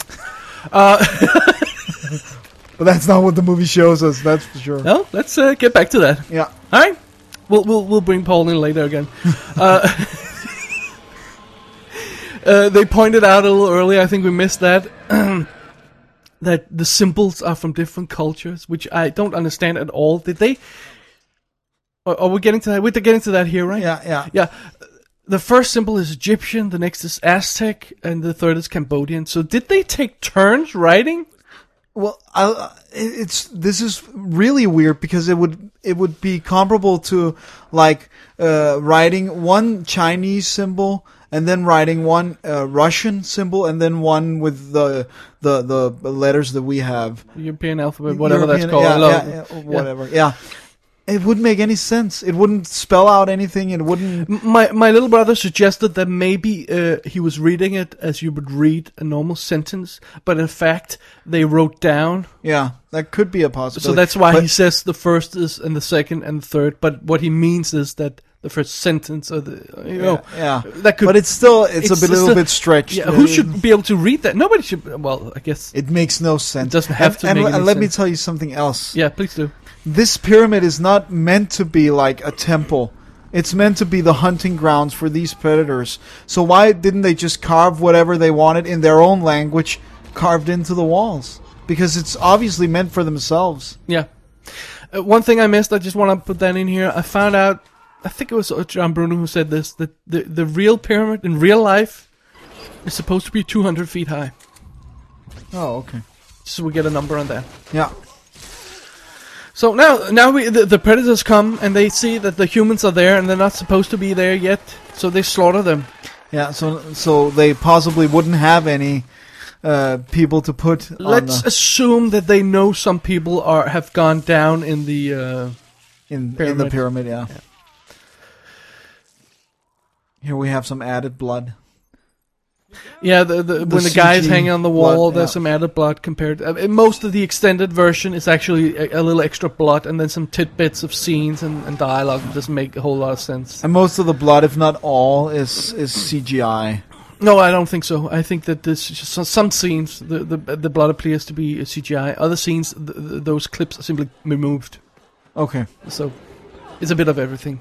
Uh, But that's not what the movie shows us. That's for sure. no, let's uh, get back to that. Yeah. All right, we'll we'll we'll bring Paul in later again. uh, uh, they pointed out a little earlier. I think we missed that. That the symbols are from different cultures, which I don't understand at all. Did they? Are, are we getting to that? We're getting to that here, right? Yeah, yeah. Yeah. The first symbol is Egyptian, the next is Aztec, and the third is Cambodian. So did they take turns writing? Well, I, it's this is really weird because it would it would be comparable to like uh, writing one Chinese symbol and then writing one uh, Russian symbol and then one with the the the letters that we have. European alphabet, whatever European, that's called. Yeah, I love yeah, yeah, whatever. Yeah. It wouldn't make any sense. It wouldn't spell out anything. It wouldn't. My my little brother suggested that maybe uh, he was reading it as you would read a normal sentence, but in fact they wrote down. Yeah, that could be a possibility. So that's why but, he says the first is and the second and the third. But what he means is that the first sentence of the you know yeah, that could. But it's still it's, it's a bit, little still, bit stretched. Yeah, who should be able to read that? Nobody should. Well, I guess it makes no sense. It doesn't have and, to. And, make and any let sense. me tell you something else. Yeah, please do. This pyramid is not meant to be like a temple. It's meant to be the hunting grounds for these predators. So why didn't they just carve whatever they wanted in their own language carved into the walls? Because it's obviously meant for themselves. Yeah. Uh, one thing I missed, I just want to put that in here. I found out, I think it was John Bruno who said this, that the, the real pyramid in real life is supposed to be two hundred feet high. Oh, okay. So we get a number on that. Yeah. So now, now we the, the predators come and they see that the humans are there and they're not supposed to be there yet, so they slaughter them. Yeah, so so they possibly wouldn't have any uh, people to put. Let's on the, assume that they know some people are have gone down in the uh, in pyramid. in the pyramid. Yeah. Yeah. Here we have some added blood. Yeah, the, the, The when the guy is C G hanging on the wall, blood, there's yeah. some added blood compared. Uh, in most of the extended version is actually a, a little extra blood, and then some tidbits of scenes and, and dialogue that doesn't make a whole lot of sense. And most of the blood, if not all, is is C G I. No, I don't think so. I think that this just some- some scenes the, the the blood appears to be C G I. Other scenes, th- th- those clips are simply removed. Okay. So it's a bit of everything.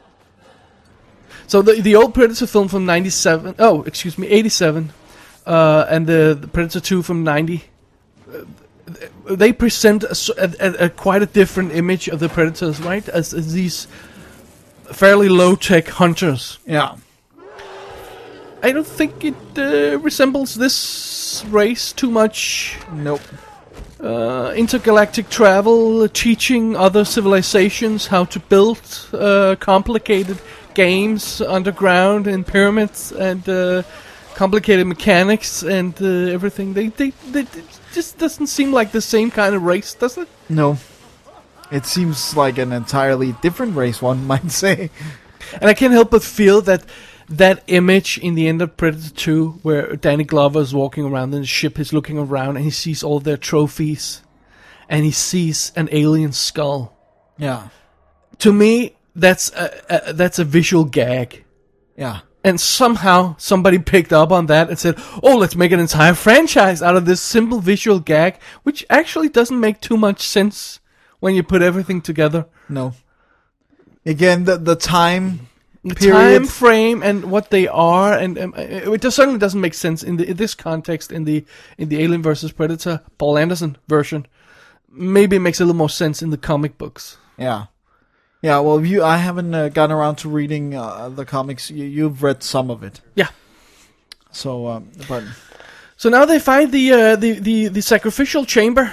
So the the old Predator film from ninety-seven, oh, excuse me, eighty-seven, uh, and the, the Predator two from ninety, uh, they present a, s- a- a- a quite a different image of the Predators, right? As, as these fairly low-tech hunters. Yeah. I don't think it uh, resembles this race too much. Nope. Uh, intergalactic travel, teaching other civilizations how to build uh, complicated games underground in pyramids and uh, complicated mechanics and uh, everything. They, they, they, it just doesn't seem like the same kind of race, does it? No. It seems like an entirely different race, one might say. And I can't help but feel that that image in the end of Predator two, where Danny Glover is walking around in the ship, he's looking around and he sees all their trophies, and he sees an alien skull. Yeah. To me, that's a, a, that's a visual gag. Yeah. And somehow somebody picked up on that and said, oh, let's make an entire franchise out of this simple visual gag, which actually doesn't make too much sense when you put everything together. No. Again, the the time The period. time frame and what they are, and um, it just certainly doesn't make sense in, the, in this context. In the in the Alien versus Predator Paul Anderson version, maybe it makes a little more sense in the comic books. Yeah. Yeah, well, you, I haven't uh, gotten around to reading uh, the comics. You, you've read some of it. Yeah. So, um, but... So now they find the uh, the, the the sacrificial chamber.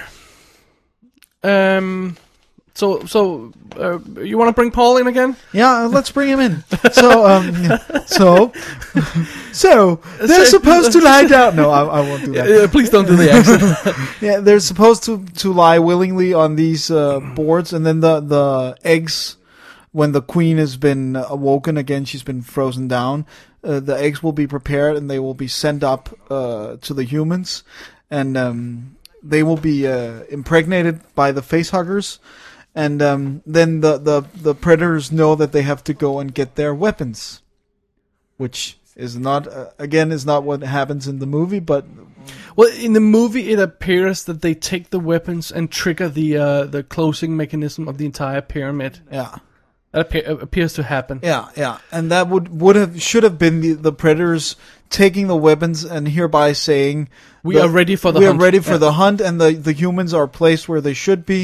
Um. So so uh, you want to bring Paul in again? Yeah, let's bring him in. So, um, so, so they're supposed to lie down. No, I, I won't do that. Uh, please don't do the accent. Yeah, they're supposed to, to lie willingly on these uh, boards, and then the the eggs, when the queen has been awoken again, she's been frozen down. Uh, the eggs will be prepared, and they will be sent up uh, to the humans, and um, they will be uh, impregnated by the facehuggers. And um, then the, the, the predators know that they have to go and get their weapons, which is not uh, again is not what happens in the movie. But Well, in the movie, it appears that they take the weapons and trigger the uh, the closing mechanism of the entire pyramid. yeah, That appear- appears to happen. yeah, yeah, and that would would have should have been the, the predators taking the weapons and hereby saying We the- are ready for the we hunt. are ready for Yeah. the hunt, and the the humans are placed where they should be.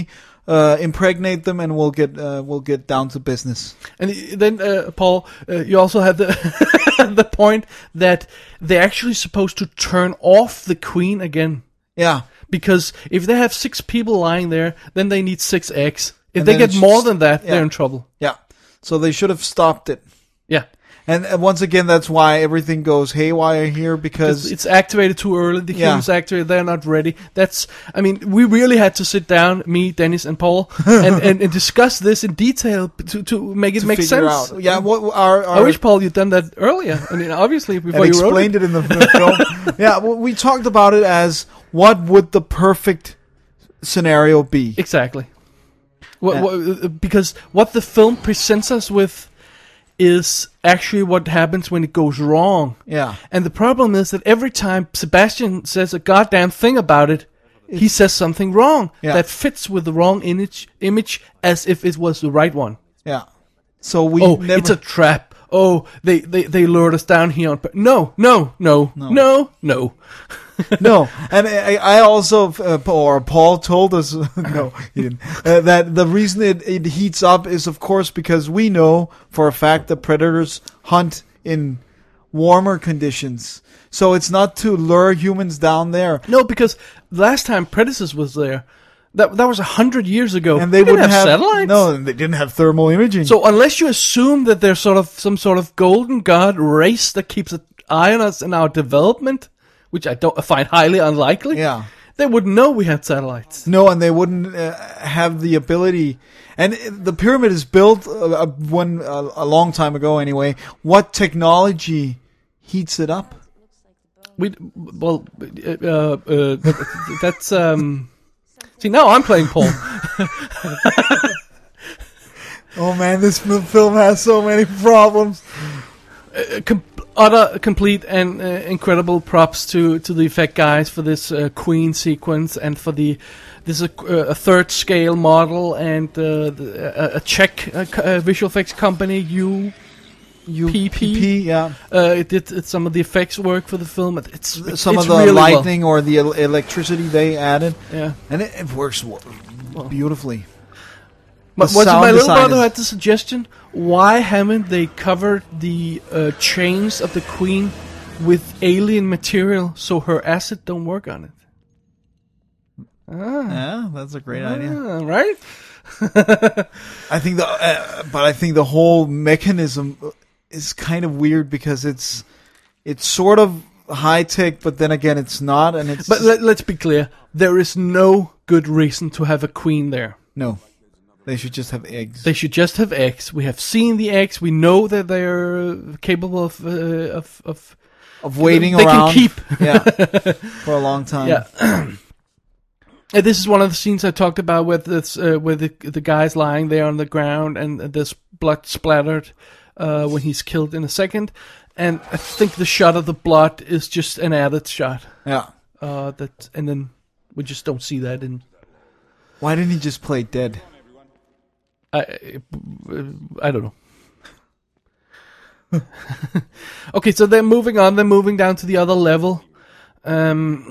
uh, impregnate them, and we'll get uh, we'll get down to business. And then, uh, Paul, uh, you also have the the point that they're actually supposed to turn off the queen again. Yeah. Because if they have six people lying there, then they need six eggs. If And they then get it's more just- than that, yeah. they're in trouble. Yeah. So they should have stopped it. Yeah. And uh, once again, that's why everything goes haywire here, because It's, it's activated too early. The Yeah. humans activated. They're not ready. That's. I mean, we really had to sit down, me, Dennis, and Paul, and, and, and discuss this in detail to to make it to make figure sense. out. Yeah. What our, our I wish, Paul, you'd done that earlier. I mean, obviously before and you wrote explained it. it in the, the film. Yeah. Well, we talked about it as what would the perfect scenario be? Exactly. What, Yeah. what, because what the film presents us with is actually what happens when it goes wrong. Yeah. And the problem is that every time Sebastian says a goddamn thing about it, he says something wrong Yeah. that fits with the wrong image, image as if it was the right one. Yeah. So we Oh, never. it's a trap. Oh, they, they, they lured us down here on pur- No, no, no, no, no, no. No, and I, I also, uh, or Paul told us, no, he didn't, uh, that the reason it, it heats up is, of course, because we know for a fact that predators hunt in warmer conditions. So it's not to lure humans down there. No, because last time Predators was there, that that was a hundred years ago. And they didn't wouldn't have, have, satellites. No, they didn't have thermal imaging. So unless you assume that there's sort of some sort of golden god race that keeps an eye on us in our development, which I don't I find highly unlikely, yeah. they wouldn't know we had satellites. No, and they wouldn't uh, have the ability. And the pyramid is built uh, one uh, a long time ago, anyway. What technology heats it up? We well, uh, uh, uh, that's um. See, now I'm playing Paul. Oh man, this fil- film has so many problems. uh, com- utter, complete, and uh, incredible props to, to the effect guys for this uh, Queen sequence, and for the this is a, a third scale model, and uh, the, a, a Czech uh, co- uh, visual effects company, U. P P, yeah. Uh, it did uh, some of the effects work for the film. It- It's, it's Some it's of the really well. lightning or the el- electricity they added, Yeah. and it, it works w- beautifully. But The was it sound my little design brother who is- had the suggestion? Why haven't they covered the uh, chains of the Queen with alien material so her acid don't work on it? Ah, Yeah, that's a great idea. ah, right? I think the, uh, but I think the whole mechanism is kind of weird because it's it's sort of high tech, but then again, it's not, and it's But let, let's be clear: there is no good reason to have a queen there. no. They should just have eggs. They should just have eggs. We have seen the eggs. We know that they're capable of uh, of, of of waiting they around. can keep. yeah, for a long time. Yeah. And this is one of the scenes I talked about with this, uh, where the the guy's lying there on the ground and there's blood splattered uh, when he's killed in a second, and I think the shot of the blood is just an added shot. Yeah. Uh, that and then we just don't see that in. Why didn't he just play dead? I I don't know. Okay, so they're moving on. They're moving down to the other level. Um.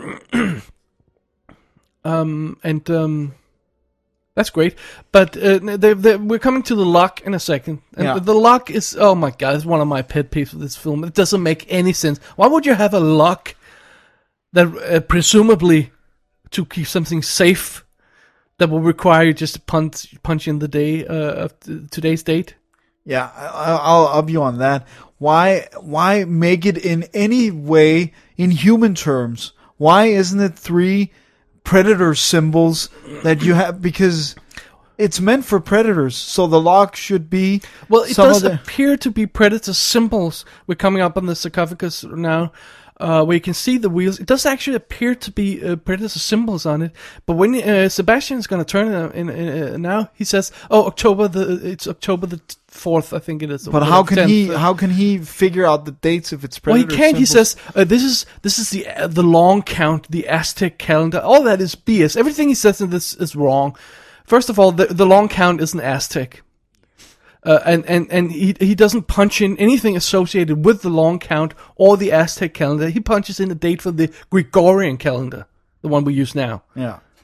Um, and um, that's great. But uh, they, they, we're coming to the lock in a second. And Yeah. the, the lock is, oh my god, it's one of my pet peeves of this film. It doesn't make any sense. Why would you have a lock that uh, presumably to keep something safe that will require you just to punch, punch in the day uh, of t- today's date? Yeah, I, I'll up you on that. Why? Why make it in any way in human terms? Why isn't it three predator symbols that you have? Because it's meant for predators, so the lock should be. Well, it some does of the, appear to be predator symbols. We're coming up on the sarcophagus now, uh, where you can see the wheels. It does actually appear to be uh, predator symbols on it. But when uh, Sebastian's going to turn it in, in, uh, now, he says, "Oh, October the it's October the fourth, I think it is." But or how the can he? tenth. How can he figure out the dates if it's Well, predator? he can't. He symbols? says uh, this is this is the uh, the long count, the Aztec calendar. All that is B S. Everything he says in this is wrong. First of all, the the long count is an Aztec, uh, and and and he he doesn't punch in anything associated with the long count or the Aztec calendar. He punches in a date for the Gregorian calendar, the one we use now, Yeah.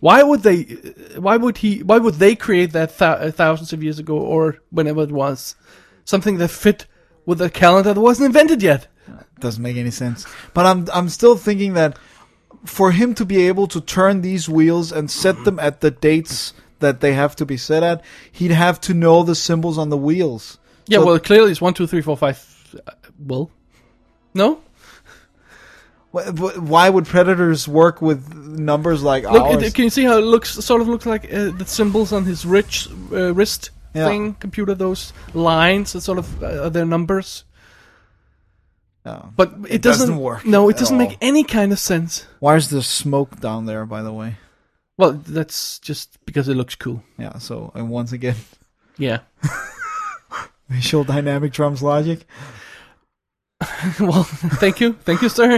Why would they? Why would he? Why would they create that th- thousands of years ago or whenever it was? Something that fit with a calendar that wasn't invented yet. Doesn't make any sense. But I'm I'm still thinking that for him to be able to turn these wheels and set them at the dates that they have to be set at, he'd have to know the symbols on the wheels. Yeah, So- well, clearly it's one, two, three, four, five. Uh, well, no. Wh- wh- Why would predators work with numbers like Look, ours? it, can you see how it looks? Sort of looks like uh, the symbols on his rich uh, wrist Yeah. thing, computer. Those lines, that sort of uh, are their numbers. No. But it, It doesn't, doesn't work No, it at doesn't all. make any kind of sense. Why is there smoke down there, by the way? Well, that's just because it looks cool. Yeah, so, and once again, Yeah. visual dynamic drums logic. Well, thank you, thank you, sir.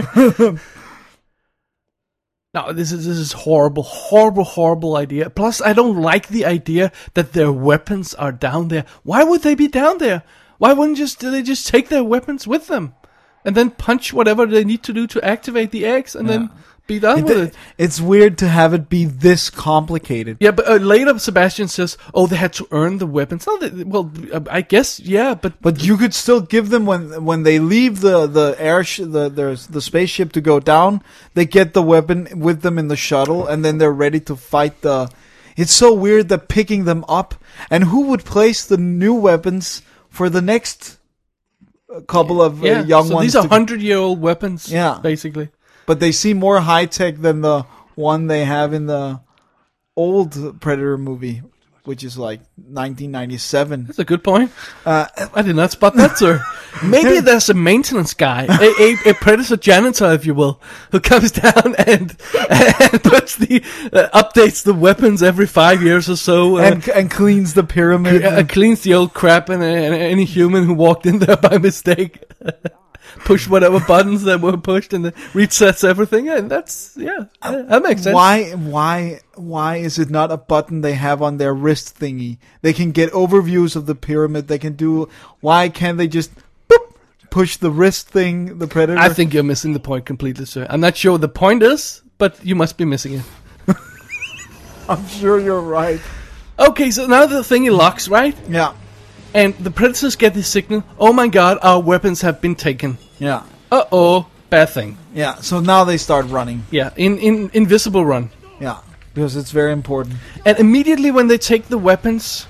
No, this is this is horrible, horrible, horrible idea. Plus, I don't like the idea that their weapons are down there. Why would they be down there? Why wouldn't just they just take their weapons with them, and then punch whatever they need to do to activate the eggs, and then be done with it? It's weird to have it be this complicated. Yeah, but uh, later Sebastian says, "Oh, they had to earn the weapons." No, they, well, uh, I guess yeah, but But you could still give them when when they leave the the air sh- the the the spaceship to go down. They get the weapon with them in the shuttle, and then they're ready to fight the. It's so weird that picking them up, and who would place the new weapons for the next couple of yeah, uh, young so ones? these are to- hundred-year-old weapons, Yeah. basically. But they seem more high tech than the one they have in the old Predator movie, which is like nineteen ninety-seven. That's a good point. Uh, I did not spot that, sir. Maybe there's a maintenance guy, a, a, a predator janitor, if you will, who comes down and, and puts the uh, updates the weapons every five years or so, uh, and and cleans the pyramid. uh, cleans the old crap, and, and any human who walked in there by mistake pushed whatever buttons that were pushed, and it resets everything. And that's yeah, yeah, that makes sense. Why why why is it not a button they have on their wrist thingy? They can get overviews of the pyramid. They can do. Why can't they just boop, push the wrist thing? The Predator. I think you're missing the point completely, sir. I'm not sure what the point is, but you must be missing it. I'm sure you're right. Okay, so now the thingy locks, right? Yeah. And the predators get the signal, oh my god, our weapons have been taken. Yeah. Uh-oh, bad thing. Yeah. So now they start running. Yeah, in, in invisible run. Yeah. Because it's very important. And immediately when they take the weapons,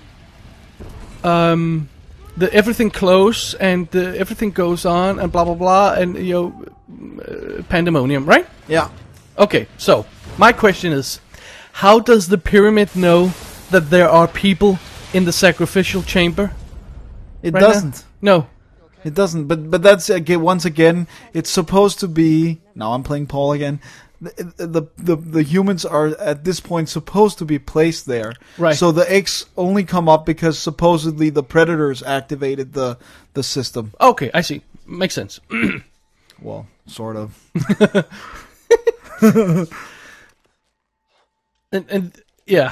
um, the everything close and uh, everything goes on and blah blah blah and you know, uh, pandemonium, right? Yeah. Okay, so my question is, how does the pyramid know that there are people in the sacrificial chamber? It right now? doesn't. No. It doesn't. But but that's again once again. It's supposed to be. Now I'm playing Paul again. The, the the the humans are at this point supposed to be placed there. Right. So the eggs only come up because supposedly the predators activated the the system. Okay, I see. Makes sense. Well, sort of. and and yeah.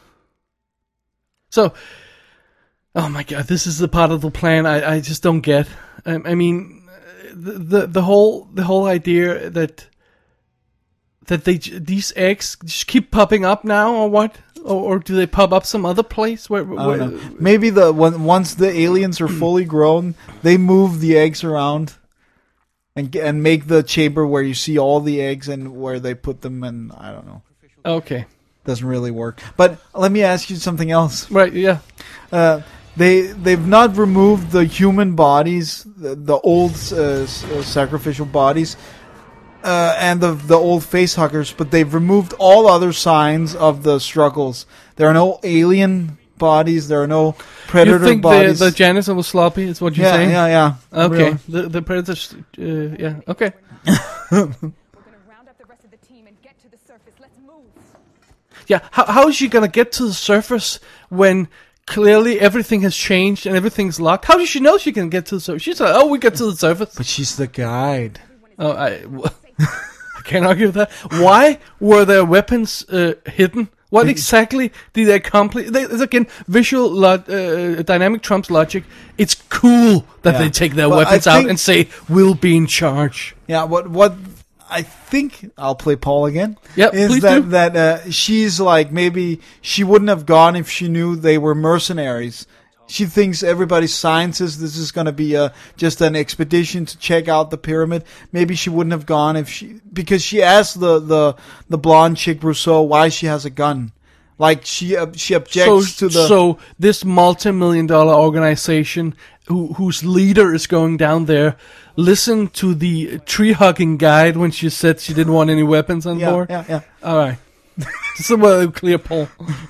So, oh my god, this is the part of the plan I, I just don't get. I, I mean, the, the the whole the whole idea that that they j- these eggs just keep popping up now, or what? Or, or do they pop up some other place? Where, I where don't know. Maybe the when, once the aliens are fully grown, they move the eggs around and ge- and make the chamber where you see all the eggs and where they put them. And I don't know. Okay, Doesn't really work. But let me ask you something else. right, yeah. Uh, they they've not removed the human bodies, the, the old uh, s- uh, sacrificial bodies, uh, and the the old facehuggers, but they've removed all other signs of the struggles. There are no alien bodies. There are no predator You think the, bodies. the janitor was sloppy? Is what you're yeah, saying? yeah, yeah. Okay, Really. the the predators. Uh, yeah. Okay. We're gonna round up the rest of the team and get to the surface. Let's move. Yeah, how how is she gonna get to the surface when clearly everything has changed and everything's locked? How does she know she can get to the surface? She's like, oh, we get to the surface. But she's the guide. Oh, I, I can't argue with that. Why were their weapons uh, hidden? What exactly did they accomplish? They, it's again, visual lo- uh, dynamic trumps logic. It's cool that Yeah. they take their Well, I weapons out think- and say, we'll be in charge. Yeah. What what I think I'll play Paul again. Yep, is please that do. that uh, she's like maybe she wouldn't have gone if she knew they were mercenaries. She thinks everybody's scientists. This is going to be a just an expedition to check out the pyramid. Maybe she wouldn't have gone if she because she asked the the the blonde chick Rousseau why she has a gun. Like she uh, she objects so, to the so this multi-million dollar organization who, whose leader is going down there listened to the tree hugging guide when she said she didn't want any weapons on yeah, board. yeah yeah. All right, just a way to clear Paul.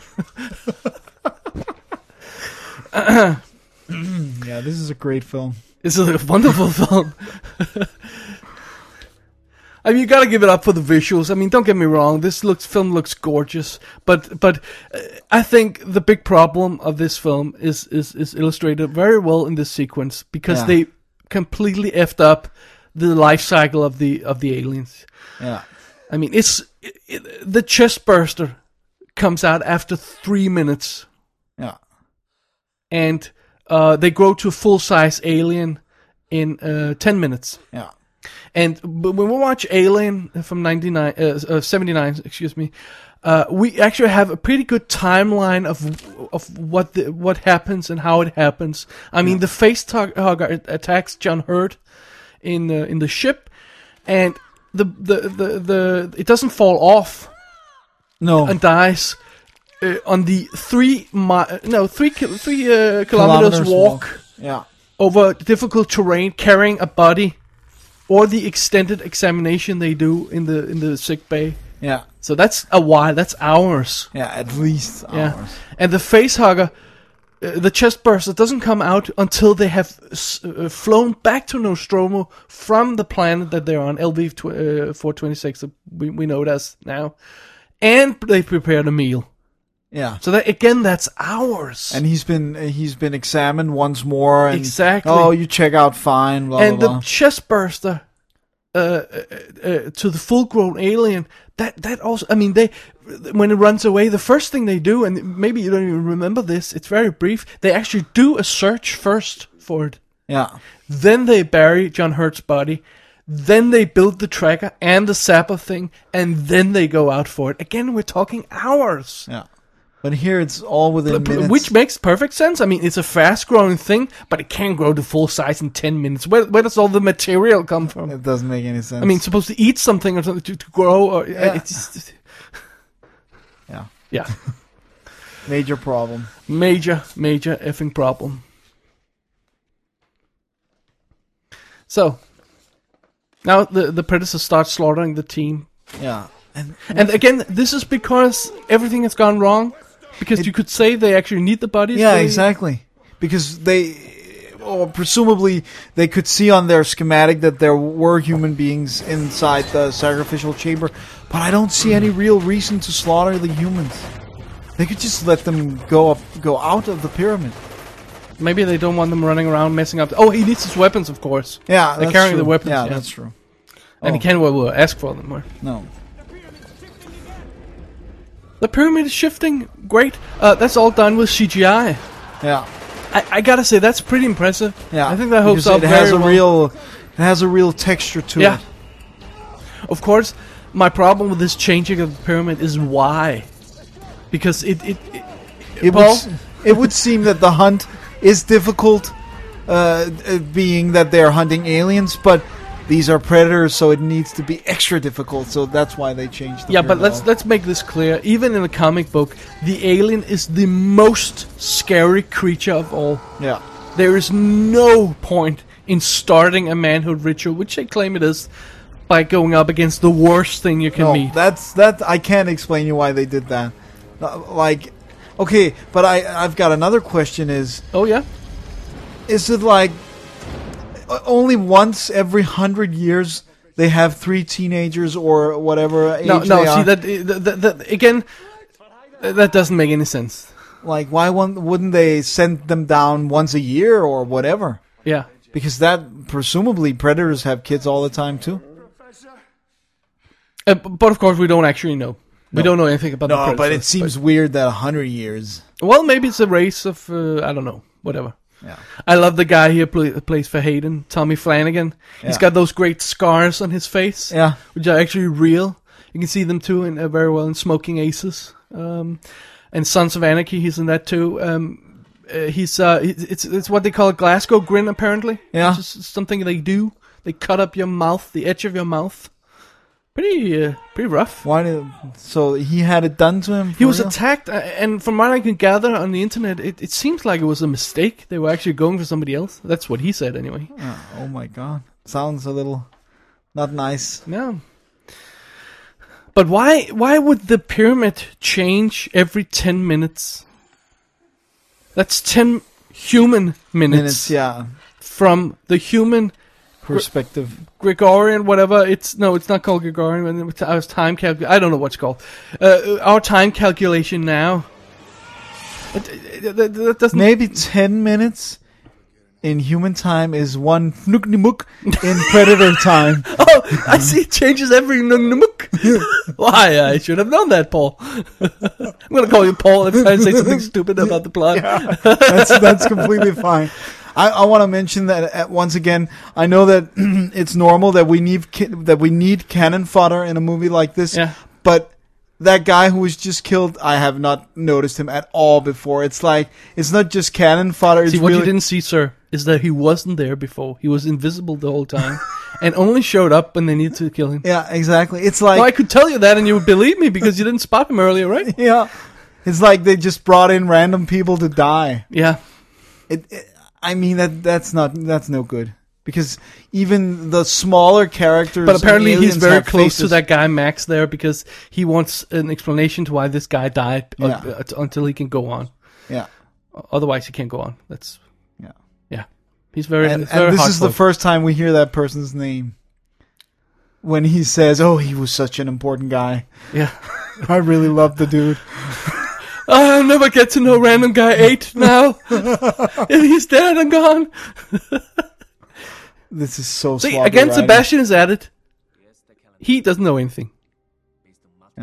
Yeah, this is a great film. It's a wonderful film. I mean, you gotta give it up for the visuals. I mean, don't get me wrong. This looks film looks gorgeous, but but uh, I think the big problem of this film is is, is illustrated very well in this sequence because Yeah. they completely effed up the life cycle of the of the aliens. Yeah. I mean, it's it, it, the chest burster comes out after three minutes, Yeah. and uh, they grow to a full size alien in uh, ten minutes. Yeah. And but when we watch Alien from ninety-nine, uh, uh, seventy-nine, excuse me, uh, we actually have a pretty good timeline of of what the, what happens and how it happens. I mean, the face hugger attacks John Hurt in the in the ship, and the the, the the it doesn't fall off No. and dies uh, on the three mi- no three ki- three uh, kilometers, Kilometers walk, walk. Yeah. over difficult terrain, carrying a body. Or the extended examination they do in the in the sick bay. Yeah. So that's a while. That's hours. Yeah. At least Yeah. hours. And the facehugger, uh, the chest burster doesn't come out until they have s- uh, flown back to Nostromo from the planet that they're on, L V four twenty-six. We we know it as now, and they prepared a meal. Yeah. So that again, that's hours. And he's been he's been examined once more. And, Exactly. Oh, you check out fine. Blah and blah the blah. chest burster uh, uh, uh, to the full-grown alien. That that also. I mean, they when it runs away, the first thing they do, and maybe you don't even remember this. It's very brief. They actually do a search first for it. Yeah. Then they bury John Hurt's body. Then they build the tracker and the zapper thing, and then they go out for it. Again, we're talking hours. Yeah. But here it's all within P- minutes. Which makes perfect sense. I mean, it's a fast-growing thing, but it can't grow to full size in ten minutes. Where, where does all the material come from? It doesn't make any sense. I mean, it's supposed to eat something or something to, to grow. Or, Yeah. it's just, yeah. yeah, Major problem. major, major effing problem. So, now the, the Predator starts slaughtering the team. Yeah. And And again, this is because everything has gone wrong. Because you could say they actually need the bodies. yeah, they- exactly. Because they, or presumably, they could see on their schematic that there were human beings inside the sacrificial chamber. But I don't see any real reason to slaughter the humans. They could just let them go up, go out of the pyramid. Maybe they don't want them running around messing up. Oh, he needs his weapons, of course. Yeah, They're that's carrying true. the weapons. Yeah, Yeah, that's true. And Oh. he can't well, well, ask for them. Or. No. The pyramid is shifting. Great. Uh, that's all done with C G I. Yeah. I, I gotta say that's pretty impressive. Yeah. I think that holds because up it very has a well. real, it has a real texture to Yeah. it. Of course, my problem with this changing of the pyramid is why. Because it it, it, It Paul? would, s- it would seem that the hunt is difficult, uh, uh, being that they're hunting aliens, but these are predators, so it needs to be extra difficult. So that's why they changed. The yeah, but pyramid let's all. let's make this clear. Even in the comic book, the alien is the most scary creature of all. Yeah. There is no point in starting a manhood ritual, which they claim it is, by going up against the worst thing you can No, meet. that's that. I can't explain you why they did that. Uh, Like, okay, but I I've got another question. Is Oh yeah. is it like uh, only once every hundred years they have three teenagers or whatever age No, no. they See are? that, that, that, that again. uh, That doesn't make any sense. Like, why one, wouldn't they send them down once a year or whatever? Yeah. Because that, presumably, predators have kids all the time, too. Uh, b- but of course, we don't actually know. We don't know anything about the No, predators. but it seems weird that a hundred years. Well, maybe it's a race of uh, I don't know, whatever. Yeah. I love the guy here play, plays for Hayden, Tommy Flanagan. He's Yeah. got those great scars on his face, Yeah. which are actually real. You can see them too in uh, very well in Smoking Aces, um, and Sons of Anarchy. He's in that too. Um, uh, he's uh, it's it's what they call a Glasgow grin, apparently. Yeah. It's just something they do. They cut up your mouth, the edge of your mouth. Pretty, uh, pretty rough. Why did? So he had it done to him. For He was real? attacked, uh, and from what I can gather on the internet, it, it seems like it was a mistake. They were actually going for somebody else. That's what he said, anyway. Oh, oh my god, sounds a little not nice. No. But why? Why would the pyramid change every ten minutes? That's ten human minutes, Minutes, yeah. from the human Perspective. Gregorian, whatever. It's no, it's not called Gregorian. It's our time calc. I don't know what's called. Uh, our time calculation now. It, it, it, it doesn't. Maybe ten minutes in human time is one fnuknimuk in predator time. Oh, I see. It changes every nungnumuk. Why? I should have known that, Paul. I'm gonna call you Paul if I say something stupid about the plot. That's that's completely fine. I, I want to mention that uh, once again. I know that it's normal that we need ki- that we need cannon fodder in a movie like this. Yeah. But that guy who was just killed, I have not noticed him at all before. It's like it's not just cannon fodder. It's See, what really you didn't see, sir, is that he wasn't there before. He was invisible the whole time, and only showed up when they needed to kill him. yeah, exactly. It's like Well, I could tell you that, and you would believe me because you didn't spot him earlier, right? yeah, it's like they just brought in random people to die. Yeah. It, it, I mean that that's not that's no good because even the smaller characters. But apparently and he's aliens very have close to faces. that guy Max there because he wants an explanation to why this guy died uh, Yeah. uh, t- until he can go on. Yeah, Otherwise, he can't go on. That's yeah. yeah. He's very. And, it's very and this is the heartfelt. first time we hear that person's name when he says, "Oh, he was such an important guy." Yeah. I really love the dude. I'll never get to know random guy eight now. If he's dead and gone. This is so See, sloppy again, writing. Sebastian is at it. He doesn't know anything. Yeah.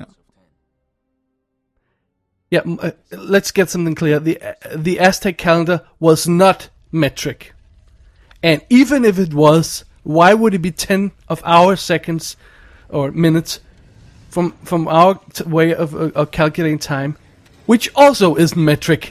Yeah, m- uh, let's get something clear. The uh, the Aztec calendar was not metric. And even if it was, why would it be ten of our seconds or minutes from from our t- way of, uh, of calculating time, which also is metric?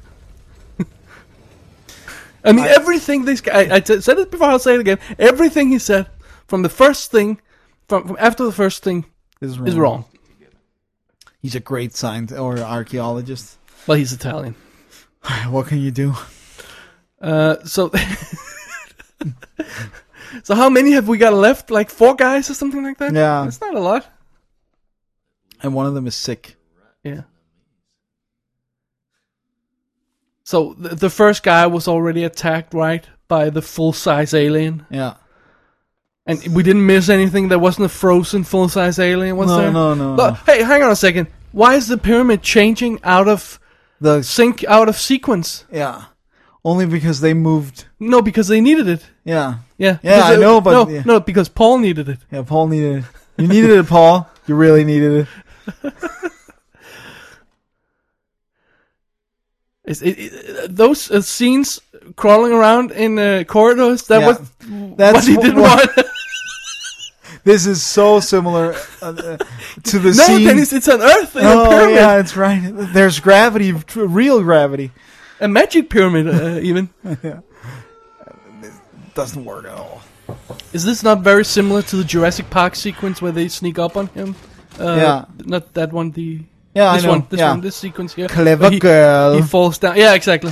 I mean, everything this guy, I, I t- said it before, I'll say it again. Everything he said, from the first thing, from, from after the first thing, Is wrong. is wrong. He's a great scientist or archaeologist. Well, he's Italian. What can you do? Uh, so, so how many have we got left? Like four guys or something like that? Yeah. It's not a lot. And one of them is sick. Yeah. So the, the first guy was already attacked, right, by the full-size alien, Yeah. and we didn't miss anything. There wasn't a frozen full-size alien, was No, there? no, no, Look, no. hey, hang on a second. Why is the pyramid changing out of The sync, out of sequence? yeah. Only because they moved. No, because they needed it. Yeah. Yeah. Yeah, Because I they- know, but no, yeah. no, because Paul needed it. Yeah, Paul needed it. You needed it, Paul. You really needed it. Is it, it, those uh, scenes crawling around in uh, corridors, that Yeah. was That's what he wh- didn't what- want. This is so similar uh, uh, to the No, scene. Dennis, it's on Earth in a Oh pyramid. yeah, it's right. There's gravity, tr- real gravity. A magic pyramid, uh, even. Doesn't work at all. Is this not very similar to the Jurassic Park sequence where they sneak up on him? Uh, Yeah. Not that one, the... Yeah, this I know. one, this yeah. one, this sequence here. Clever Where he, girl. He falls down. Yeah, exactly.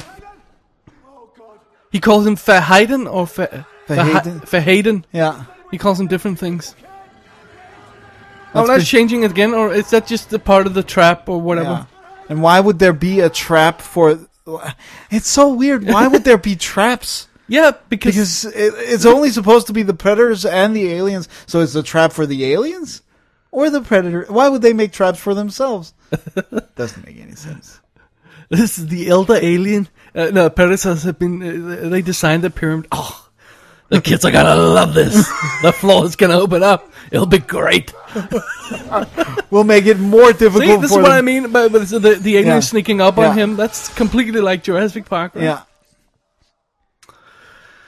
He calls him Verheiden or Ver, Verheiden? Verhe- Verheiden. Yeah. He calls him different things. Oh, That's that's be- changing it again, or is that just the part of the trap or whatever? Yeah. And why would there be a trap for? It's so weird. Why would there be traps? Yeah, because, Because it, it's only supposed to be the predators and the aliens. So it's a trap for the aliens or the predator. Why would they make traps for themselves? Doesn't make any sense. this is the elder alien. Uh, no, predators have been. Uh, they designed the pyramid. Oh, the kids are gonna love this. The floor is gonna open up. It'll be great. We'll make it more difficult. See, this for is what them. I mean. But, but the the alien Yeah. sneaking up Yeah. on him. That's completely like Jurassic Park. Right? Yeah.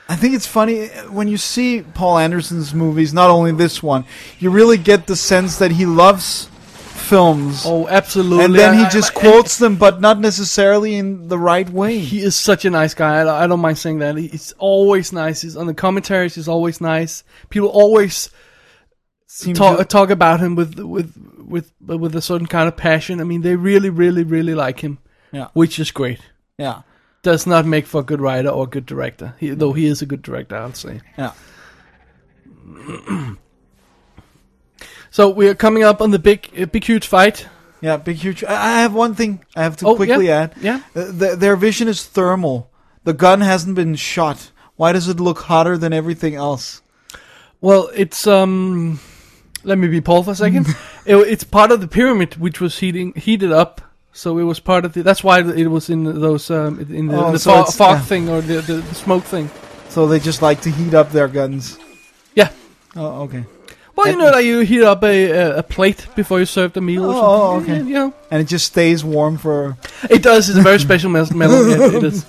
I think it's funny when you see Paul Anderson's movies, not only this one, you really get the sense that he loves films. Oh, absolutely. And then he I- just I- quotes them, but not necessarily in the right way. He is such a nice guy. I, I don't mind saying that. He's always nice. He's on the commentaries. He's always nice. People always Seem talk, to- talk about him with with with with a certain kind of passion. I mean, they really, really, really like him, yeah, which is great. yeah, Does not make for a good writer or a good director. He, though he is a good director, I'll say. yeah. So we are coming up on the big, uh, big, huge fight. Yeah, big, huge. I I have one thing I have to Oh, quickly yeah, add. yeah. Uh, th- their vision is thermal. The gun hasn't been shot. Why does it look hotter than everything else? Well, it's um. Let me be Paul for a second. it, it's part of the pyramid which was heating heated up. So it was part of the. That's why it was in those um in the, Oh, the so fog, it's- fog yeah. thing or the, the the smoke thing. So they just like to heat up their guns. Yeah. Oh, okay. Well, you know that you heat up a a, a plate before you serve the meal. or Oh, something. oh, okay. Yeah, you know. And it just stays warm for. It does. It's a very special mes- metal. Yeah, it is.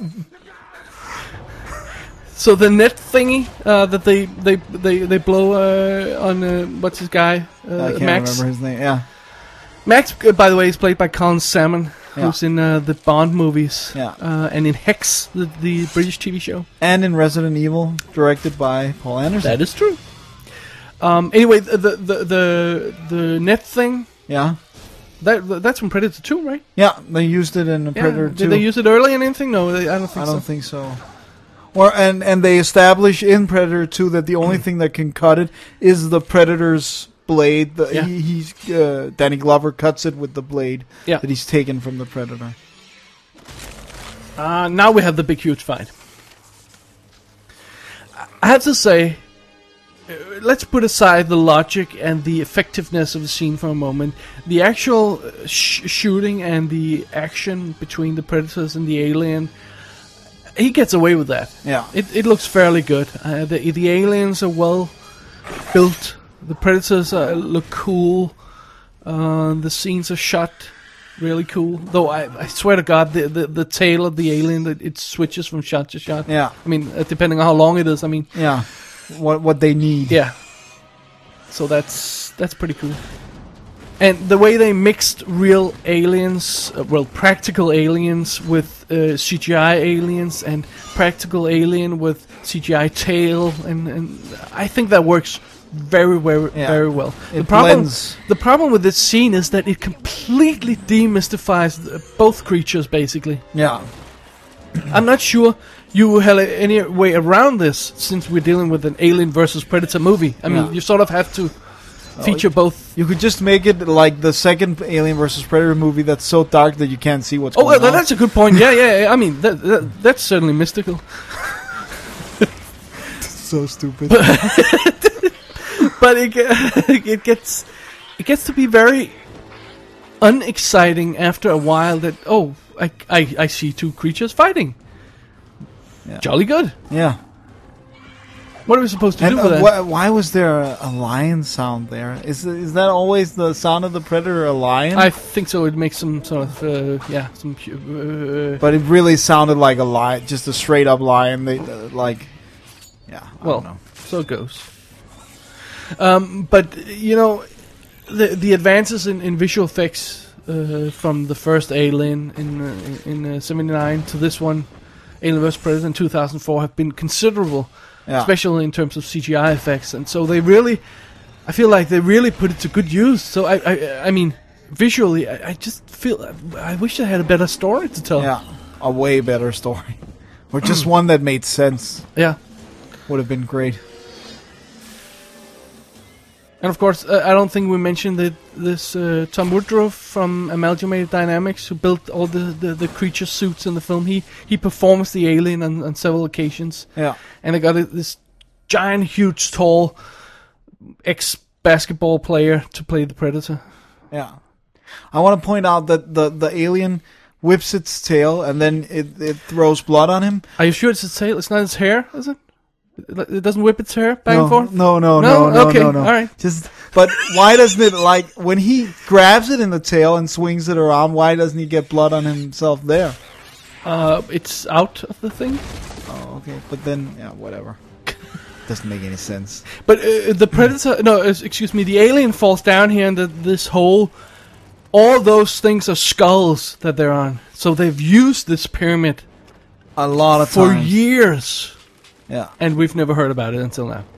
So the net thingy uh, that they they they they blow uh, on uh, what's his guy uh, I can't Max. remember his name. Yeah. Max, uh, by the way, is played by Colin Salmon, Yeah. who's in uh, the Bond movies, Yeah. uh, and in Hex, the, the British T V show. And in Resident Evil, directed by Paul Anderson. That is true. Um, anyway, the the the the, the net thing Yeah. that that's from Predator two, right? Yeah, they used it in Yeah. Predator Did two. they use it early in anything? No, they, I don't I think don't so. think so. Or and and they establish in Predator two that the only thing that can cut it is the Predator's blade. The, Yeah. he, he's uh, Danny Glover cuts it with the blade Yeah. that he's taken from the Predator. Uh, now we have the big, huge fight. I have to say, uh, let's put aside the logic and the effectiveness of the scene for a moment. The actual uh, sh- shooting and the action between the Predators and the alien, he gets away with that. Yeah. It it looks fairly good. Uh, the the aliens are well built. The Predators uh, look cool. Uh, the scenes are shot really cool. Though I, I swear to God, the, the the tail of the alien, it, it switches from shot to shot. Yeah. I mean, uh, depending on how long it is. I mean, Yeah. What what they need. yeah. So that's that's pretty cool. And the way they mixed real aliens, uh, well, practical aliens with uh, C G I aliens, and practical alien with C G I tail, and, and I think that works very, very, Yeah. very well. It the problem, blends. the problem with this scene is that it completely demystifies the, both creatures, basically. Yeah. I'm not sure you had any way around this, since we're dealing with an Alien versus Predator movie. I mean, Yeah. you sort of have to feature both. You could just make it like the second Alien versus Predator movie that's so dark that you can't see what's Oh, going well, on. that's a good point. Yeah, yeah, yeah. I mean, that, that that's certainly mystical. so stupid. But it ge- it gets it gets to be very unexciting after a while. That oh, I I, I see two creatures fighting. Yeah. Jolly good. Yeah. What are we supposed to And do uh, with that? wh- why was there a, a lion sound there? Is is that always the sound of the predator, a lion? I think so. It makes some sort of uh, yeah, some pu- uh, but it really sounded like a lion, just a straight up lion. They uh, like, yeah. I well, don't know. so it goes. Um, but you know, the the advances in, in visual effects uh, from the first Alien in uh, in uh, seventy-nine to this one, Alien versus. Predator in two thousand four, have been considerable, Yeah. especially in terms of C G I effects. And so they really, I feel like they really put it to good use. So I I, I mean, visually, I, I just feel I wish I had a better story to tell. Yeah, a way better story, or just one that made sense Yeah. would have been great. And of course, uh, I don't think we mentioned that this uh, Tom Woodruff from Amalgamated Dynamics, who built all the, the, the creature suits in the film, he he performs the alien on, on several occasions. Yeah. And they got a, this giant, huge, tall ex-basketball player to play the Predator. Yeah. I want to point out that the, the alien whips its tail and then it, it throws blood on him. Are you sure it's its tail? It's not its hair, is it? It it doesn't whip its hair back no, and forth? No, no, No? no, no, Okay, no, no. all right. Just, but why doesn't it, like, when he grabs it in the tail and swings it around, why doesn't he get blood on himself there? Uh, it's out of the thing. okay, but then yeah, whatever. Doesn't make any sense. But uh, the Predator, no, uh, excuse me, the alien falls down here, and the, this whole, all those things are skulls that they're on. So they've used this pyramid A lot of for times. years, Yeah. and we've never heard about it until now.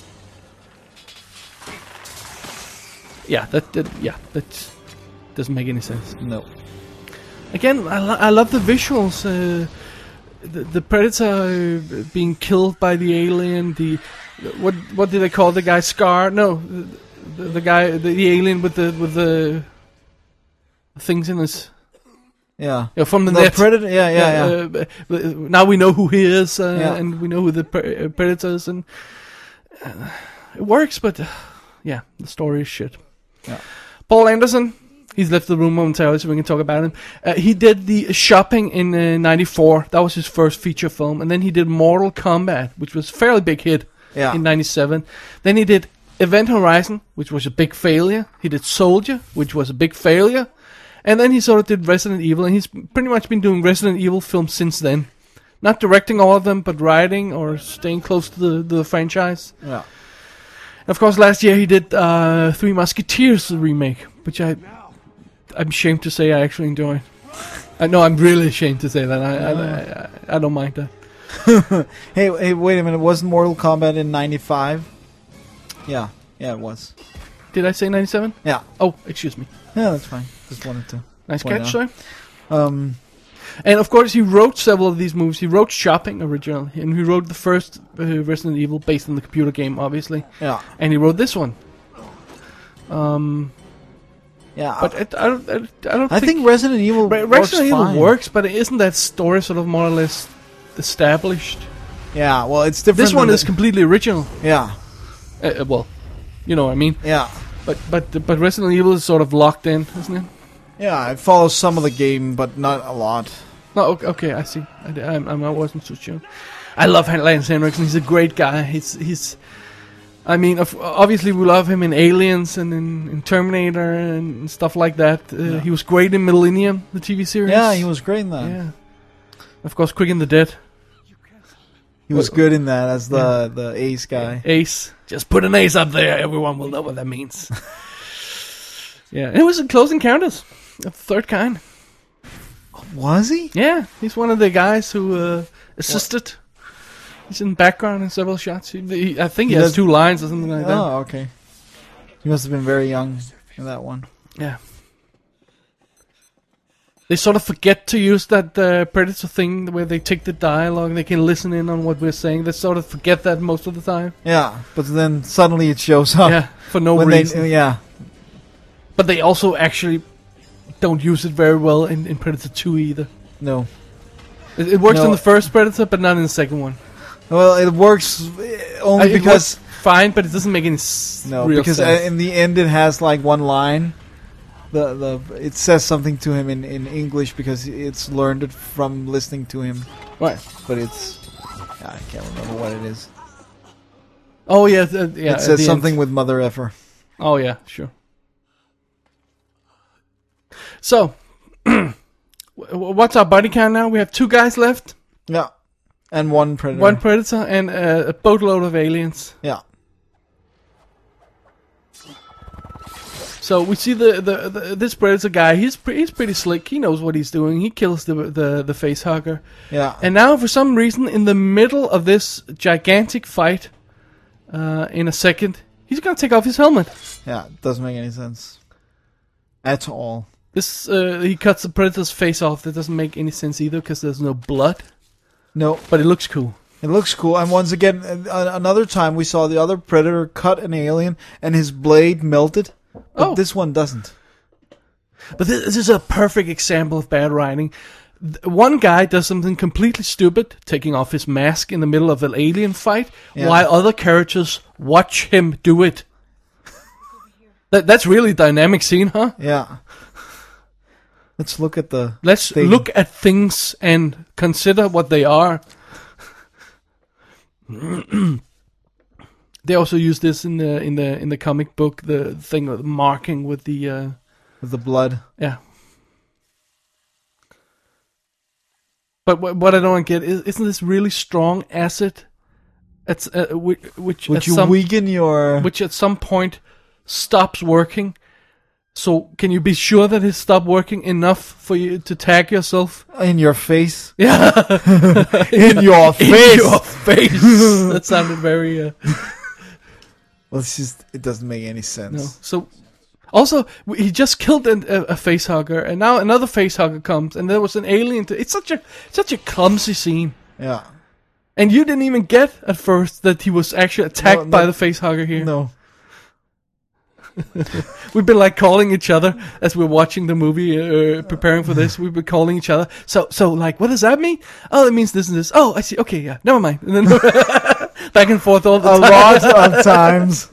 Yeah, that, that yeah, that doesn't make any sense. No. Again, I, lo- I love the visuals. Uh, the, the Predator uh, being killed by the alien. The what what did they call the guy? Scar? No, the, the guy, the, the alien with the with the things in his. Yeah. Yeah, from the, The net. Predator. Yeah, yeah, yeah. Uh, but- but now we know who he is, uh, Yeah. and we know who the pre- uh, Predator is, and uh, it works. But uh, yeah, the story is shit. Yeah. Paul Anderson, he's left the room momentarily, so we can talk about him. Uh, he did the Shopping in uh, ninety-four. That was his first feature film, and then he did Mortal Kombat, which was a fairly big hit Yeah. in ninety-seven. Then he did Event Horizon, which was a big failure. He did Soldier, which was a big failure. And then he sort of did Resident Evil, and he's pretty much been doing Resident Evil films since then. Not directing all of them, but writing or staying close to the, the franchise. Yeah. And of course, last year he did uh, Three Musketeers, the remake, which I, I'm ashamed to say I actually enjoy. I know, I'm really ashamed to say that. I, I, I, I don't mind that. Hey, hey, wait a minute. Wasn't Mortal Kombat in ninety-five? Yeah. Yeah, it was. Did I say ninety-seven? Yeah. Oh, excuse me. Yeah, that's fine. Just wanted to. Nice point catch, out. sir. Um, And of course, he wrote several of these movies. He wrote Shopping originally, and he wrote the first uh, Resident Evil based on the computer game, obviously. yeah. And he wrote this one. Um, Yeah. but it, I don't, I, I don't I think, think Resident Evil Re- works Resident Evil fine. works, but isn't that story sort of more or less established? Yeah, well, it's different. This one than is the- completely original. Yeah. Uh, uh, well, you know what I mean. Yeah. But but but Resident Evil is sort of locked in, isn't it? Yeah, it follows some of the game, but not a lot. No, okay, okay I see. I, I, I wasn't so sure. I love Lance Henriksen. He's a great guy. He's he's. I mean, of, obviously we love him in Aliens and in, in Terminator and stuff like that. Uh, Yeah. He was great in Millennium, the T V series. Yeah, he was great in that. Yeah. Of course, Quick and the Dead. He was good in that as the, the ace guy. Ace. Just put an ace up there. Everyone will know what that means. Yeah, and it was in Close Encounters of the Third Kind. Was he? Yeah, he's one of the guys who uh, assisted. He's in the background in several shots. He, he, I think he, He has does- two lines or something like that. Oh, okay. He must have been very young in that one. Yeah. They sort of forget to use that uh, Predator thing where they take the dialogue, they can listen in on what we're saying. They sort of forget that most of the time. Yeah, but then suddenly it shows up. Yeah, for no when reason. They, yeah, But they also actually don't use it very well in, in Predator two either. no. It, it works No. in the first Predator, but not in the second one. Well, it works eh, only Uh, it because works fine, but it doesn't make any s- no, real because sense. uh, in the end it has like one line. The the it says something to him in, in English because it's learned it from listening to him, Right. but it's I can't remember what it is. Oh yeah, th- yeah. it at says the something end. with mother effer. Oh yeah, sure. So, w- what's our body count now? We have two guys left, Yeah, and one predator. one Predator, and uh, a boatload of aliens. Yeah, So we see the, the, the this Predator guy. He's pre- he's pretty slick. He knows what he's doing. He kills the the the face hugger. yeah. And now, for some reason, in the middle of this gigantic fight, uh, in a second, he's gonna take off his helmet. Yeah, it doesn't make any sense at all. This uh, he cuts the Predator's face off. That doesn't make any sense either because there's no blood. No, But it looks cool. it looks cool. And once again, uh, another time we saw the other predator cut an alien and his blade melted, but Oh. this one doesn't. But this, this is a perfect example of bad writing. Th- One guy does something completely stupid, taking off his mask in the middle of an alien fight, Yeah. while other characters watch him do it. that, that's really dynamic scene, huh? Yeah. Let's look at the. Let's thing. look at things and consider what they are. They also use this in the in the in the comic book, the thing of marking with the uh, with the blood. yeah. But what, what I don't get is, isn't this really strong acid? It's uh, which which Would at you some, weaken your... which at some point stops working. So can you be sure that it stopped working enough for you to tag yourself? In your face? Yeah, In your face! in your face. That sounded very. Uh, Well, it's just... It doesn't make any sense. no. So also he just killed an, a, a face hugger, and now another face hugger comes, and there was an alien. To, it's such a such a clumsy scene. Yeah. And you didn't even get at first that he was actually attacked No, no. by the face hugger here. No. We've been like calling each other as we're watching the movie, uh, preparing for this. We've been calling each other. So, so like, what does that mean? Oh, it means this and this. Oh, I see. Okay, yeah, never mind. And then back and forth all the A time. lot of times.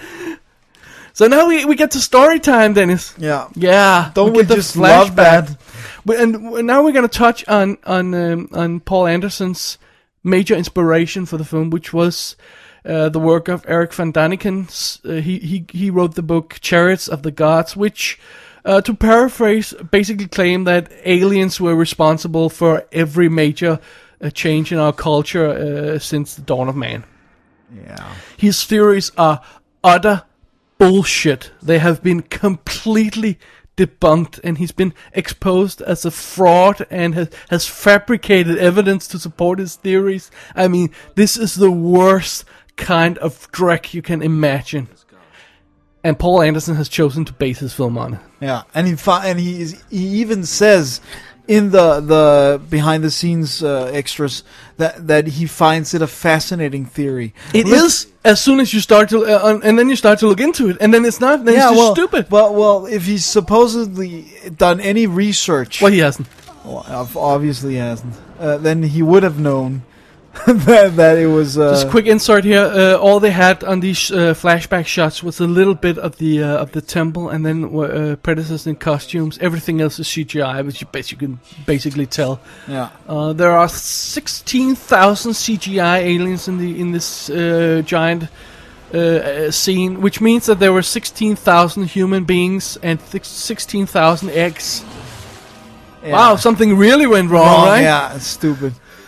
So now we we get to story time, Dennis. Yeah. Yeah, Don't we, get the just love that? But- And now we're going to touch on on um, on Paul Anderson's major inspiration for the film, which was uh, the work of Eric Van Daniken. Uh, he he he wrote the book Chariots of the Gods, which, uh, to paraphrase, basically claimed that aliens were responsible for every major uh, change in our culture uh, since the dawn of man. Yeah. His theories are utter bullshit. They have been completely debunked, and he's been exposed as a fraud and has, has fabricated evidence to support his theories. I mean, this is the worst kind of dreck you can imagine. And Paul Anderson has chosen to base his film on it. Yeah, and he fi- and he is, he even says in the the behind the scenes uh, extras that that he finds it a fascinating theory. It Look- is as soon as you start to, uh, and then you start to look into it, and then it's not. Then Yeah, it's just well, stupid. well, well, if he's supposedly done any research, Well, he hasn't. well, ob- obviously he hasn't, uh, then he would have known that, that it was. Uh, Just a quick insert here. Uh, all they had on these uh, flashback shots was a little bit of the uh, of the temple, and then uh, Predators in costumes. Everything else is C G I, which you basically can basically tell. Yeah, Uh, there are sixteen thousand C G I aliens in the in this uh, giant uh, uh, scene, which means that there were sixteen thousand human beings and th- sixteen thousand eggs. yeah. Wow, something really went wrong, Wrong, right? Yeah, it's stupid.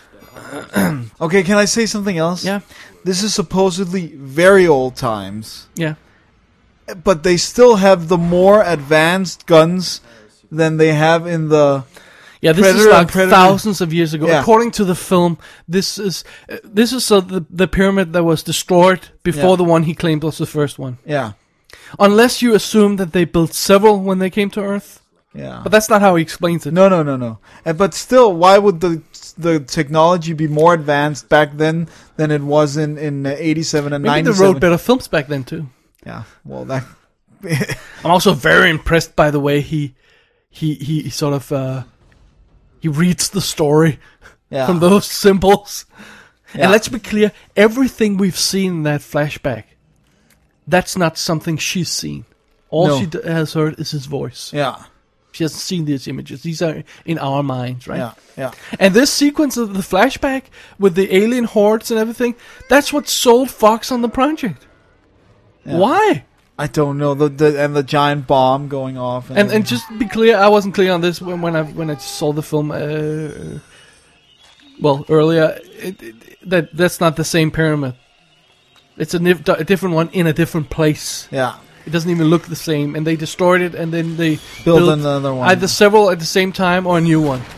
Okay, can I say something else? Yeah. This is supposedly very old times, Yeah. but they still have the more advanced guns than they have in the. Yeah, this Predator is and like Predator. thousands of years ago. Yeah. According to the film, this is uh, this is uh, the the pyramid that was destroyed before Yeah. the one he claimed was the first one. Yeah, Unless you assume that they built several when they came to Earth, yeah. but that's not how he explains it. No, no, no, no. Uh, but still, why would the the technology be more advanced back then than it was in in uh, eighty-seven and Maybe they ninety-seven? wrote better films back then too. Yeah. Well, that. I'm also very impressed by the way he he he sort of uh, he reads the story Yeah. from those symbols. Yeah. And let's be clear, everything we've seen in that flashback, that's not something she's seen. All No. she d- has heard is his voice. Yeah. She hasn't seen these images. These are in our minds, right? Yeah. Yeah. And this sequence of the flashback with the alien hordes and everything, that's what sold Fox on the project. Yeah. Why? I don't know the, the and the giant bomb going off And and just to be clear, I wasn't clear on this when, when I when I saw the film. Uh, well, earlier, it, it, that that's not the same pyramid. It's a, nif- a different one in a different place. yeah, It doesn't even look the same, and they destroyed it, and then they build built another one. either several at the same time or a new one.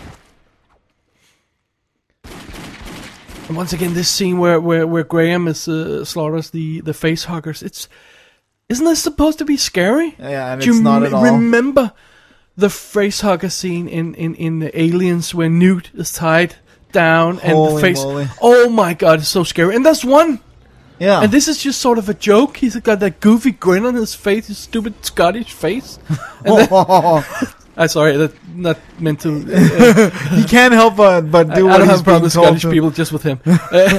And once again, this scene where where, where Graham is uh, slaughters the the face huggers. It's isn't this supposed to be scary? Yeah, and Do it's you not m- at all. remember the face hugger scene in in in the Aliens where Newt is tied down and Holy the face? moly. Oh my god, it's so scary. And there's one. Yeah, And this is just sort of a joke. He's got that goofy grin on his face, his stupid Scottish face. And then, I'm sorry, that's not meant to. Uh, he can't help but but I, do I what don't he's have a problem being with told Scottish to. people, just with him.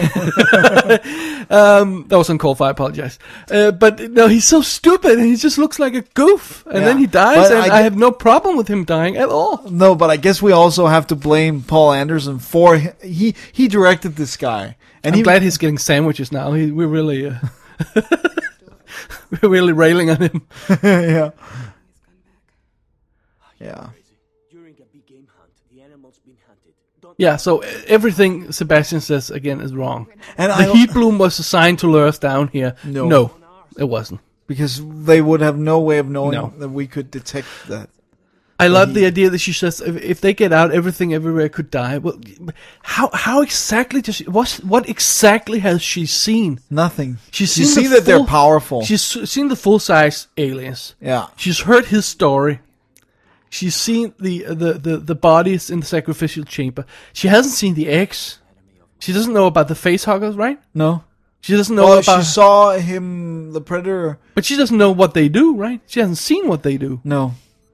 um, that was uncalled for. I apologize. Uh, but no, he's so stupid, and he just looks like a goof. And Yeah. then he dies, But and I I, get- have no problem with him dying at all. No, but I guess we also have to blame Paul Anderson for he he, he directed this guy, and I'm he glad he's getting sandwiches now. He, we're really, uh, we're really railing on him. yeah, yeah. During a big game hunt, the animal's been hunted. Don't Yeah, so uh, everything Sebastian says again is wrong. And The I heat bloom was assigned to lure us down here. No. No, it wasn't. because they would have no way of knowing No. that we could detect that. I love he- the idea that she says if, if they get out, everything everywhere could die. Well, how how exactly does she, what what exactly has she seen? Nothing. She's you seen see the that they're full- powerful. She's s- seen the full size aliens. Yeah. She's heard his story. She's seen the, the, the, the bodies in the sacrificial chamber. She hasn't seen the eggs. She doesn't know about the facehuggers, right? No. She doesn't know Well, about. she saw him, the predator. But she doesn't know what they do, right? She hasn't seen what they do. No.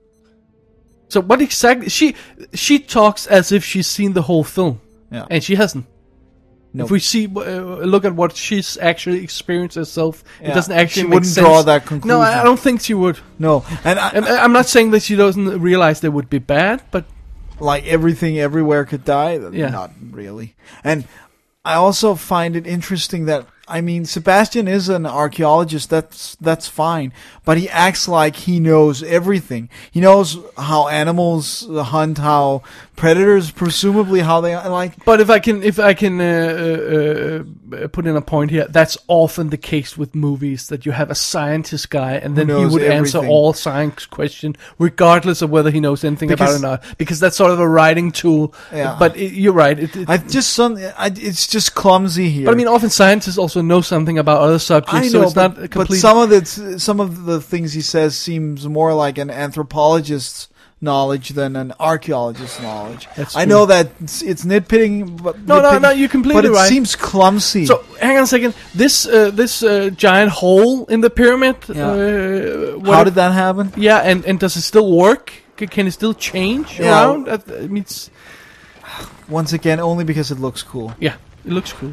So what exactly? She she talks as if she's seen the whole film, Yeah. and she hasn't. Nope. If we see, uh, look at what she's actually experienced herself, Yeah. it doesn't actually She make wouldn't sense. draw that No, conclusion. I I don't think she would. No. And I, And I- I'm not saying that she doesn't realize they would be bad, but like everything everywhere could die. Yeah. Not really. And I also find it interesting that, I mean, Sebastian is an archaeologist. That's that's fine, but he acts like he knows everything. He knows how animals hunt, how predators, presumably how they like. But if I can, if I can uh, uh, uh, put in a point here, that's often the case with movies that you have a scientist guy, and then he knows would answer everything. all science questions, regardless of whether he knows anything about it Because- or not, because that's sort of a writing tool. Yeah. But it, you're right. It, it, I just some. I, it's just clumsy here. but I mean, often scientists also know something about other subjects, I so know, it's but, not a but complete. some of the some of the things he says seems more like an anthropologist's knowledge than an archaeologist's knowledge. That's I true. know that it's, it's nitpicking, but No, no, nitpicking, no, you're completely But it right. seems clumsy. So hang on a second. This uh, this uh, giant hole in the pyramid. Yeah. Uh, what how did that happen? Yeah, and, and does it still work? C- Can it still change Yeah. around? I I mean, it's, Once again, only because it looks cool. yeah, it looks cool.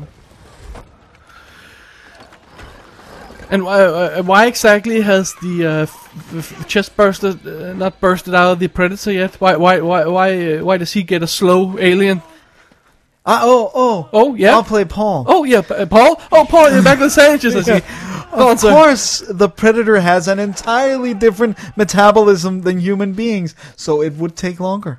And why, uh, why exactly has the uh, f- f- chest bursted, uh, not bursted out of the predator yet? Why, why, why, why, uh, why does he get a slow alien? Uh, oh, oh, Oh, yeah. I'll play Paul. Oh yeah, P- uh, Paul. Oh, Paul, you're back with sandwiches. I see. Go on, Of sir. course, the predator has an entirely different metabolism than human beings, so it would take longer.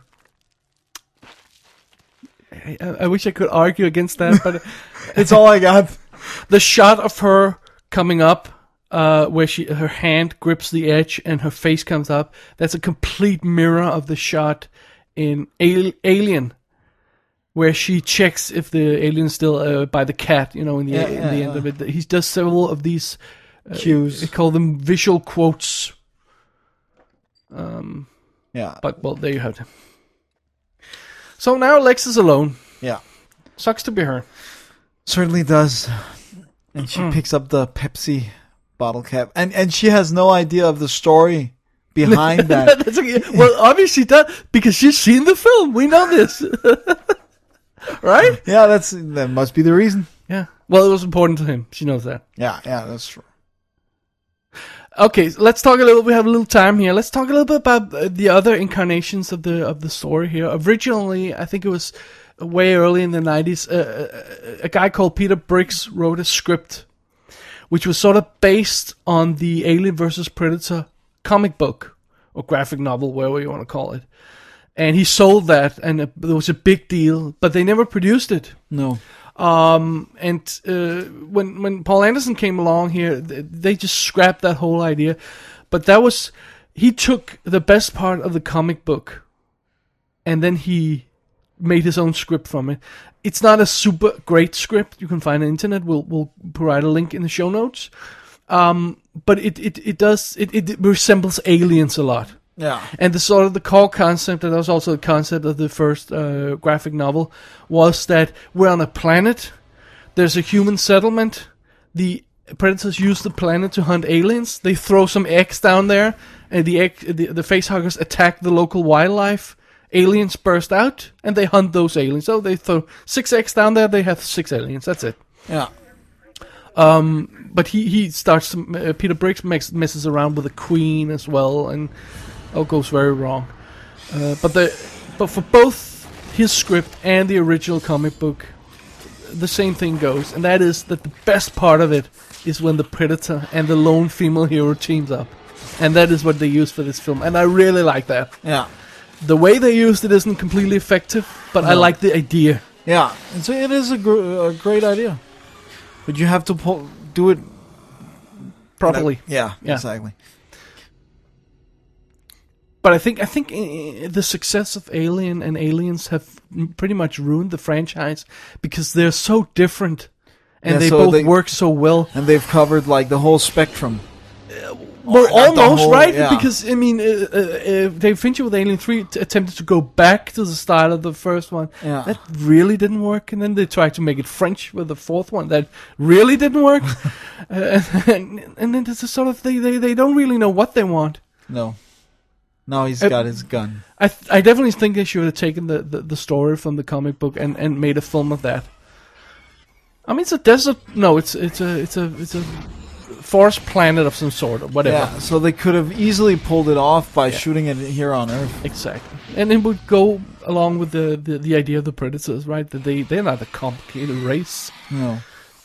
I, I wish I could argue against that, but It's all I got. the shot of her coming up, uh, where she her hand grips the edge and her face comes up, that's a complete mirror of the shot in Al- Alien, where she checks if the alien's still uh, by the cat, you know, in the Yeah, in yeah, the yeah. end of it. He does several of these uh, Cues. I call them visual quotes. Yeah, But well, there you have it. So now Lex is alone. yeah. Sucks to be her. Certainly does. And she Mm. picks up the Pepsi bottle cap. And and she has no idea of the story behind that. That's okay. Well, obviously, does because she's seen the film. We know this, right? Yeah, that's that must be the reason. Yeah. Well, it was important to him. She knows that. Yeah, yeah, that's true. Okay, so let's talk a little. We have a little time here. Let's talk a little bit about uh, the other incarnations of the of the story here. Originally, I think it was way early in the nineties. Uh, a, a guy called Peter Briggs wrote a script, which was sort of based on the Alien versus Predator comic book or graphic novel, whatever you want to call it. And he sold that, and it, it was a big deal. But they never produced it. No. Um, and uh, when when Paul Anderson came along here, th- they just scrapped that whole idea. But that was he took the best part of the comic book, and then he made his own script from it. It's not a super great script. You can find it on the internet. We'll we'll provide a link in the show notes. Um, but it it it does it, it resembles Aliens a lot. Yeah. And the sort of the core concept, and that was also the concept of the first uh, graphic novel, was that we're on a planet, there's a human settlement, the predators use the planet to hunt aliens, they throw some eggs down there, and the egg, the, the facehuggers attack the local wildlife, aliens burst out, and they hunt those aliens. So they throw six eggs down there, they have six aliens, that's it. Yeah. But he, he starts, to, uh, Peter Briggs makes, messes around with the queen as well, and all goes very wrong. Uh, but the but for both his script and the original comic book, the same thing goes, and that is that the best part of it is when the Predator and the lone female hero teams up, and that is what they use for this film, and I really like that. Yeah. The way they used it isn't completely effective, but I No. like the idea. Yeah, and so it is a, gr- a great idea, but you have to pull, do it Properly. Yeah, Yeah. exactly. But I think I think uh, the success of Alien and Aliens have m- pretty much ruined the franchise because they're so different, and Yeah, they so both they- work so well. And they've covered like the whole spectrum. Well, not the almost whole- right, yeah. because I mean, uh, uh, uh, David Fincher with Alien Three t- attempted to go back to the style of the first one. Yeah. That really didn't work, and then they tried to make it French with the fourth one. That really didn't work, uh, and, and then it's a sort of they, they they don't really know what they want. No, now he's Uh, got his gun. I th- I definitely think they should have taken the, the, the story from the comic book and, and made a film of that. I mean, it's a desert. No, it's it's a it's a it's a forest planet of some sort or whatever. Yeah, so they could have easily pulled it off by shooting it here on Earth. Exactly, and it would go along with the, the, the idea of the Predators, right? That they they're not a complicated race. No.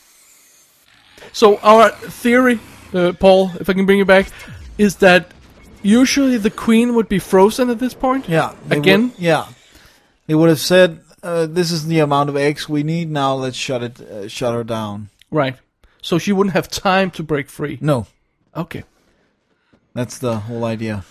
So our theory, uh, Paul, if I can bring you back, is that usually the Queen would be frozen at this point. Yeah. they Again? would- yeah. They would have said, uh, "This is the amount of eggs we need. Now let's shut it, uh, shut her down." Right. So she wouldn't have time to break free. No, Okay. that's the whole idea.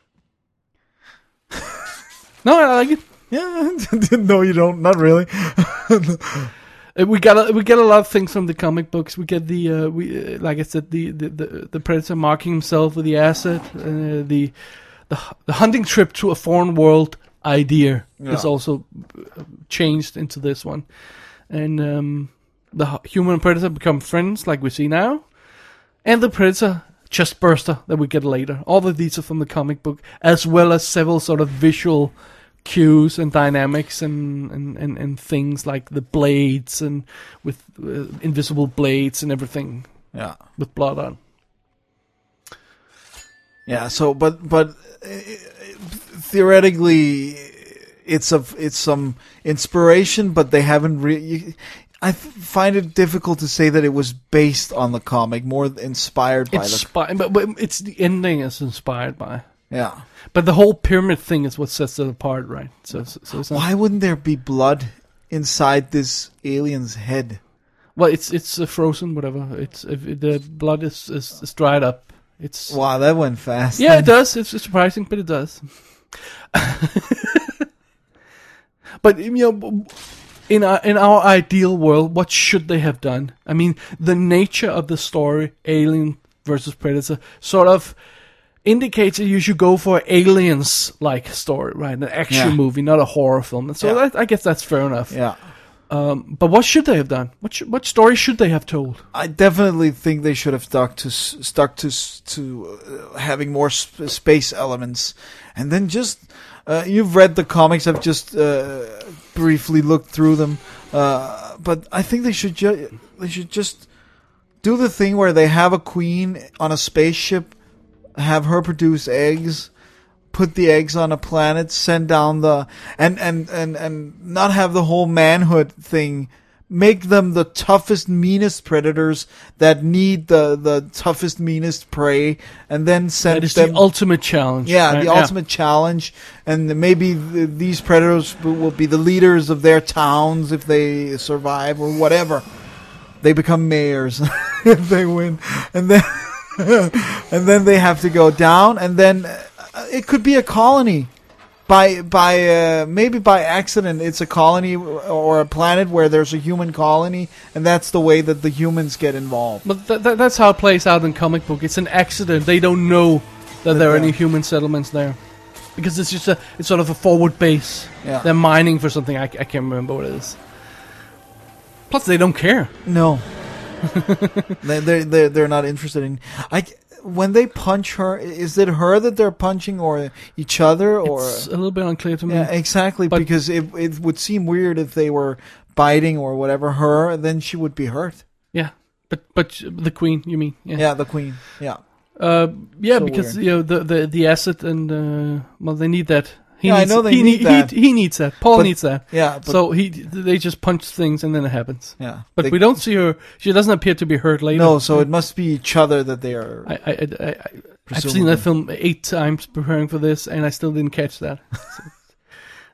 No, I like it. Yeah. No, you don't. Not really. Uh, We got a, we get a lot of things from the comic books. We get the uh, we uh, like I said the, the, the, the Predator marking himself with the asset. Uh, the the the hunting trip to a foreign world idea Yeah. is also uh, changed into this one, and um, the hu- human and Predator become friends like we see now, and the Predator chest burster that we get later. All of these are from the comic book, as well as several sort of visual cues and dynamics and, and, and, and things like the blades and with uh, invisible blades and everything Yeah. with blood on. Yeah. So, but but uh, theoretically, it's a it's some inspiration, but they haven't really. I th- find it difficult to say that it was based on the comic, more inspired by It's the. spi- but, but it's the ending is inspired by. Yeah. But the whole pyramid thing is what sets it apart, right? So, so, so it's not, Why wouldn't there be blood inside this alien's head? well, it's it's uh, frozen, whatever. It's if it- the blood is, is is dried up. It's Wow, that went fast. yeah, it does. It's surprising, but it does. But you know, in our in our ideal world, what should they have done? I mean, the nature of the story, Alien versus Predator, sort of indicates that you should go for aliens-like story, right? An action Yeah. movie, not a horror film. And so Yeah. that, I guess that's fair enough. Yeah. Um, but what should they have done? What should, what story should they have told? I definitely think they should have stuck to s- stuck to s- to uh, having more sp- space elements, and then just uh, you've read the comics. I've just uh, briefly looked through them, uh, but I think they should ju- they should just do the thing where they have a queen on a spaceship, have her produce eggs, put the eggs on a planet, send down the and and and and not have the whole manhood thing. Make them the toughest, meanest predators that need the the toughest, meanest prey, and then send That is them. the ultimate challenge. yeah, right? the ultimate challenge, and maybe th these predators will be the leaders of their towns if they survive or whatever. They become mayors if they win, and then and then they have to go down, and then uh, it could be a colony. By by uh, maybe by accident, it's a colony or a planet where there's a human colony, and that's the way that the humans get involved. But th- th- that's how it plays out in comic book. It's an accident. They don't know that there are any human settlements there, because it's just a it's sort of a forward base. Yeah. They're mining for something. I, I can't remember what it is. Plus, they don't care. No, they they they're, they're not interested in. I when they punch her, is it her that they're punching or each other or? It's a little bit unclear to me. Yeah, exactly. But- because it it would seem weird if they were biting or whatever her, then she would be hurt. Yeah. But but the queen, you mean? Yeah. Yeah, the queen. Yeah. Uh, yeah, So because weird. you know the the the acid and uh, well, they need that. He Yeah, I needs, know they he need he, that. He, he needs that. Paul But- needs that. Yeah. But, So he they just punch things and then it happens. yeah. But They- we don't see her. She doesn't appear to be hurt later. No, so it must be each other that they are. I, I, I, I I've seen Presumably. that film eight times preparing for this, and I still didn't catch that. So,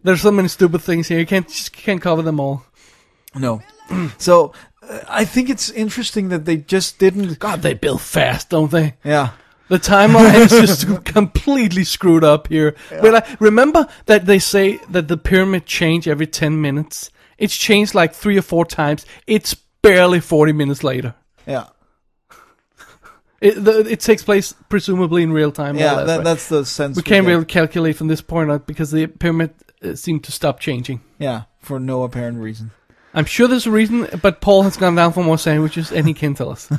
There's so many stupid things here. You can't just can't cover them all. No. So uh, I think it's interesting that they just didn't. God, they build fast, don't they? Yeah. The timeline is just completely screwed up here. Yeah. But I, remember that they say that the pyramid change every ten minutes. It's changed like three or four times. It's barely forty minutes later. Yeah. It, the, it takes place presumably in real time. Yeah, less, that, right? that's the sense. We we can't get. really calculate from this point on because the pyramid uh, seemed to stop changing. Yeah, for no apparent reason. I'm sure there's a reason, but Paul has gone down for more sandwiches, and he can tell us.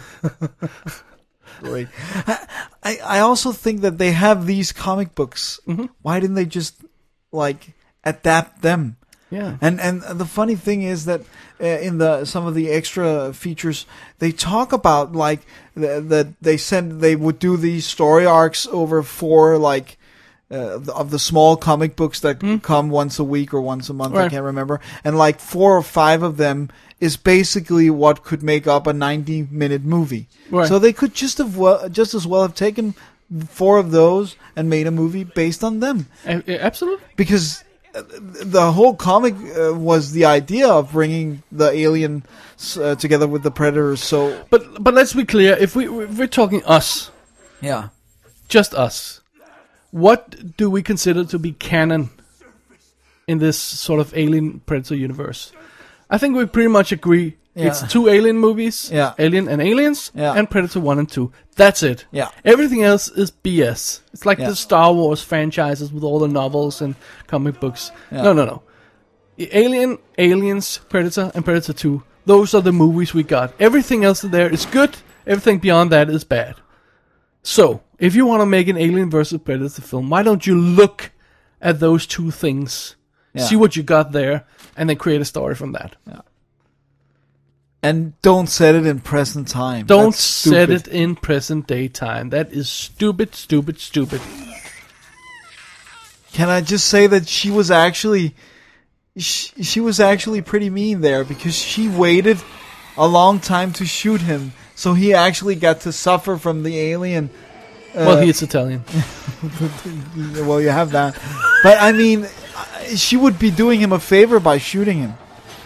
Great. I I also think that they have these comic books. Mm-hmm. Why didn't they just like adapt them? Yeah. And and the funny thing is that uh, in the some of the extra features they talk about like th- that they said they would do these story arcs over four like uh, the- of the small comic books that Mm. come once a week or once a month. Right. I can't remember. And like four or five of them is basically what could make up a ninety minute movie. Right. So they could just have well, just as well have taken four of those and made a movie based on them. A- a- absolutely. Because uh, the whole comic uh, was the idea of bringing the alien uh, together with the predators. So But but let's be clear. If we if we're talking us, yeah, just us, what do we consider to be canon in this sort of Alien Predator universe? I think we pretty much agree. Yeah. It's two Alien movies, Yeah. Alien and Aliens, Yeah. and Predator one and two. That's it. Yeah. Everything else is B S. It's like Yeah. the Star Wars franchises with all the novels and comic books. Yeah. No, no, no. Alien, Aliens, Predator, and Predator two. Those are the movies we got. Everything else there is good. Everything beyond that is bad. So, if you want to make an Alien versus Predator film, why don't you look at those two things, Yeah. see what you got there, and then create a story from that. and don't set it in present time. Don't That's set stupid. it in present day time. That is stupid, stupid, stupid. Can I just say that she was actually, she, she was actually pretty mean there because she waited a long time to shoot him, so he actually got to suffer from the alien. Well, he is Italian. Well, you have that, but I mean, uh, she would be doing him a favor by shooting him.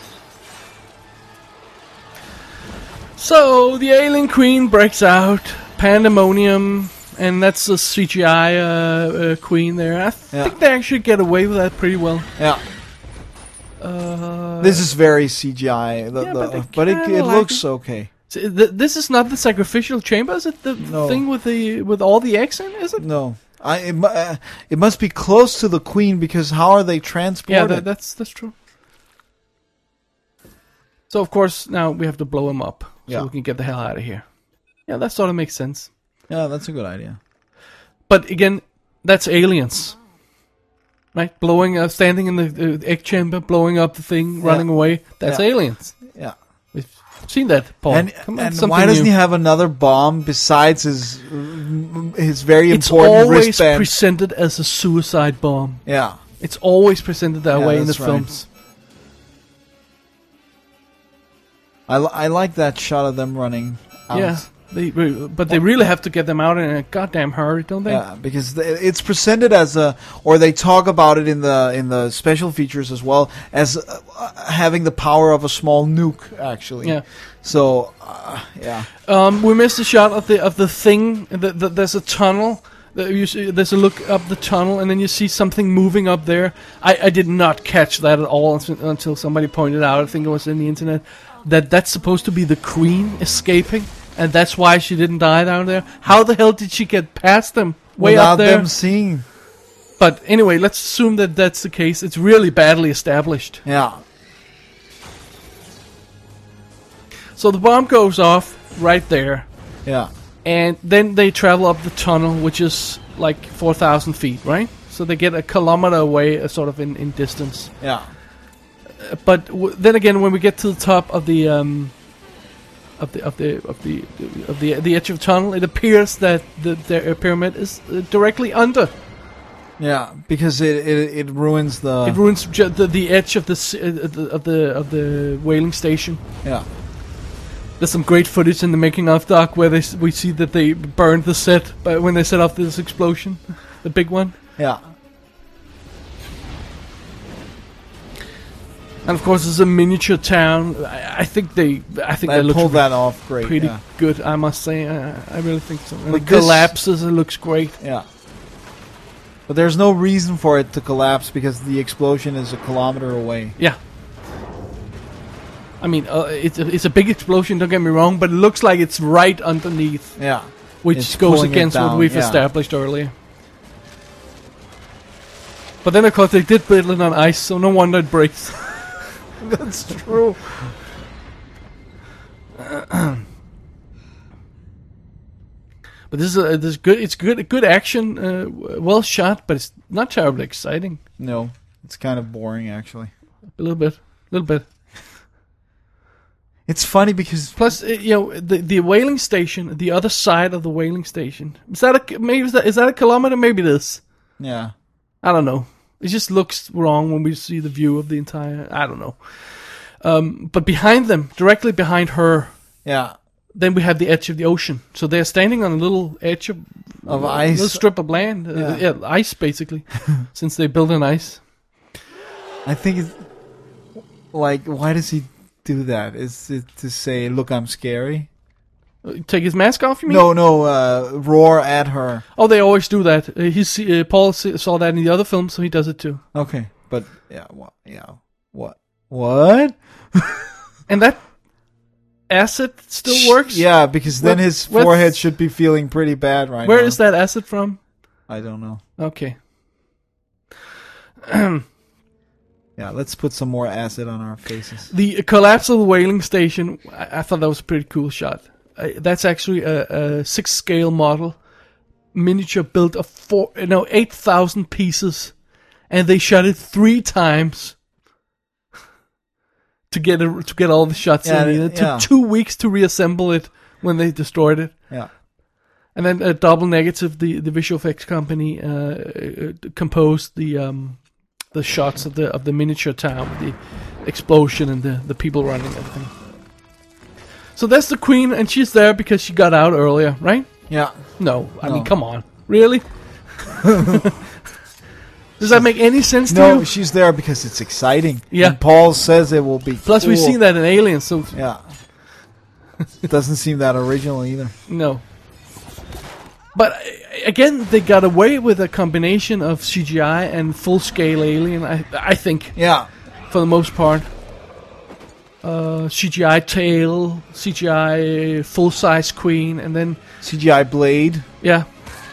So, the Alien Queen breaks out, pandemonium, and that's a C G I uh, uh, queen there. I th- Yeah. think they actually get away with that pretty well. Yeah. Uh, This is very C G I, the, Yeah, the, but I but it kinda it like looks it. okay. so th- this is not the sacrificial chamber, is it? The No. thing with the with all the eggs in, is it? No, I it, mu- uh, it must be close to the queen because how are they Yeah, transported? that, that's that's true. So of course now we have to blow him up so Yeah. we can get the hell out of here. Yeah, that sort of makes sense. Yeah, that's a good idea. But again, that's aliens, right? Blowing, uh, standing in the uh, egg chamber, blowing up the thing, Yeah. running away. That's Yeah. aliens. Yeah. We've seen that, Paul. And, Come on, and something why doesn't new. he have another bomb besides his his very It's important always wristband? presented as a suicide bomb. yeah, It's always presented that Yeah, way in the that's right. films. I, li- I like that shot of them running out. Yeah, they, re- but they really have to get them out in a goddamn hurry, don't they? Yeah, because th- it's presented as a, or they talk about it in the in the special features as well as uh, uh, having the power of a small nuke, actually. Yeah. So, uh, yeah, Um, we missed a shot of the of the thing. The, the, there's a tunnel. The, you see, there's a look up the tunnel, and then you see something moving up there. I, I did not catch that at all until, until somebody pointed out. I think it was in the internet that that's supposed to be the Queen escaping, and that's why she didn't die down there. How the hell did she get past them way without up there? them seeing. But anyway, let's assume that that's the case. It's really badly established. Yeah, So the bomb goes off right there. yeah, And then they travel up the tunnel, which is like four thousand feet, right? So they get a kilometer away, uh, sort of in, in distance. yeah, Uh, but w- then again, when we get to the top of the um, of the of the of the of the the edge of the tunnel, it appears that the, the pyramid is uh, directly under. yeah. Because it it, it ruins the. It ruins ju- the the edge of the, s- uh, the of the of the whaling station. yeah, There's some great footage in the making of doc where they s- we see that they burned the set, but when they set off this explosion, the big one. yeah. And of course, it's a miniature town. I, I think they, I think They they look pulled that off great. pretty Yeah. good. I must say, I, I really think so. And But it this- collapses. It looks great. yeah. But there's no reason for it to collapse because the explosion is a kilometer away. Yeah. I mean, uh, it's a, it's a big explosion. Don't get me wrong, but it looks like it's right underneath, Yeah. which It's goes pulling it against what down, we've yeah. established earlier. But then, of course, they did build it on ice, so no wonder it breaks. That's true. But this is a, this is good. It's good, good action, uh, w- well shot, but it's not terribly exciting. No, it's kind of boring actually. A little bit, a little bit. It's funny because Plus, uh, you know, the the whaling station, the other side of the whaling station. Is that a maybe is that, is that a kilometer? Maybe it is. yeah, I don't know. It just looks wrong when we see the view of the entire. I don't know. Um, but behind them, directly behind her, yeah, then we have the edge of the ocean. So they're standing on a little edge of Of a ice. little strip of land. Uh, Yeah. yeah, ice basically, since they built on ice. I think it's like, why does he do that? Is it to say, "Look, I'm scary"? Uh, Take his mask off, you mean? No, no, uh, roar at her. Oh, they always do that. Uh, he's, uh, Paul s- saw that in the other film, so he does it too. Okay, but yeah, what? Yeah, what? What? And that acid still works? Yeah, because then What- his what's- forehead should be feeling pretty bad right Where now. is that acid from? I don't know. Okay. Yeah, let's put some more acid on our faces. The collapse of the whaling station, I, I thought that was a pretty cool shot. Uh, that's actually a, a six-scale model, miniature built of four, no, eight thousand pieces, and they shot it three times to get it, to get all the shots Yeah, in. It took yeah. two weeks to reassemble it when they destroyed it. Yeah. And then uh, Double Negative, the, the visual effects company, uh, uh, composed the um, the shots of the of the miniature town, the explosion and the, the people running and everything. So that's the queen, and she's there because she got out earlier, right? Yeah. No, I No. mean, come on, really? Does that make any sense to No, you? she's there because it's exciting. Yeah. And Paul says it will be. Plus, we've cool. seen that in Aliens, so Yeah. It doesn't seem that original either. no. But uh, again, they got away with a combination of C G I and full-scale alien. I I think. Yeah. For the most part. Uh, C G I tail, C G I full size queen, and then C G I blade. yeah.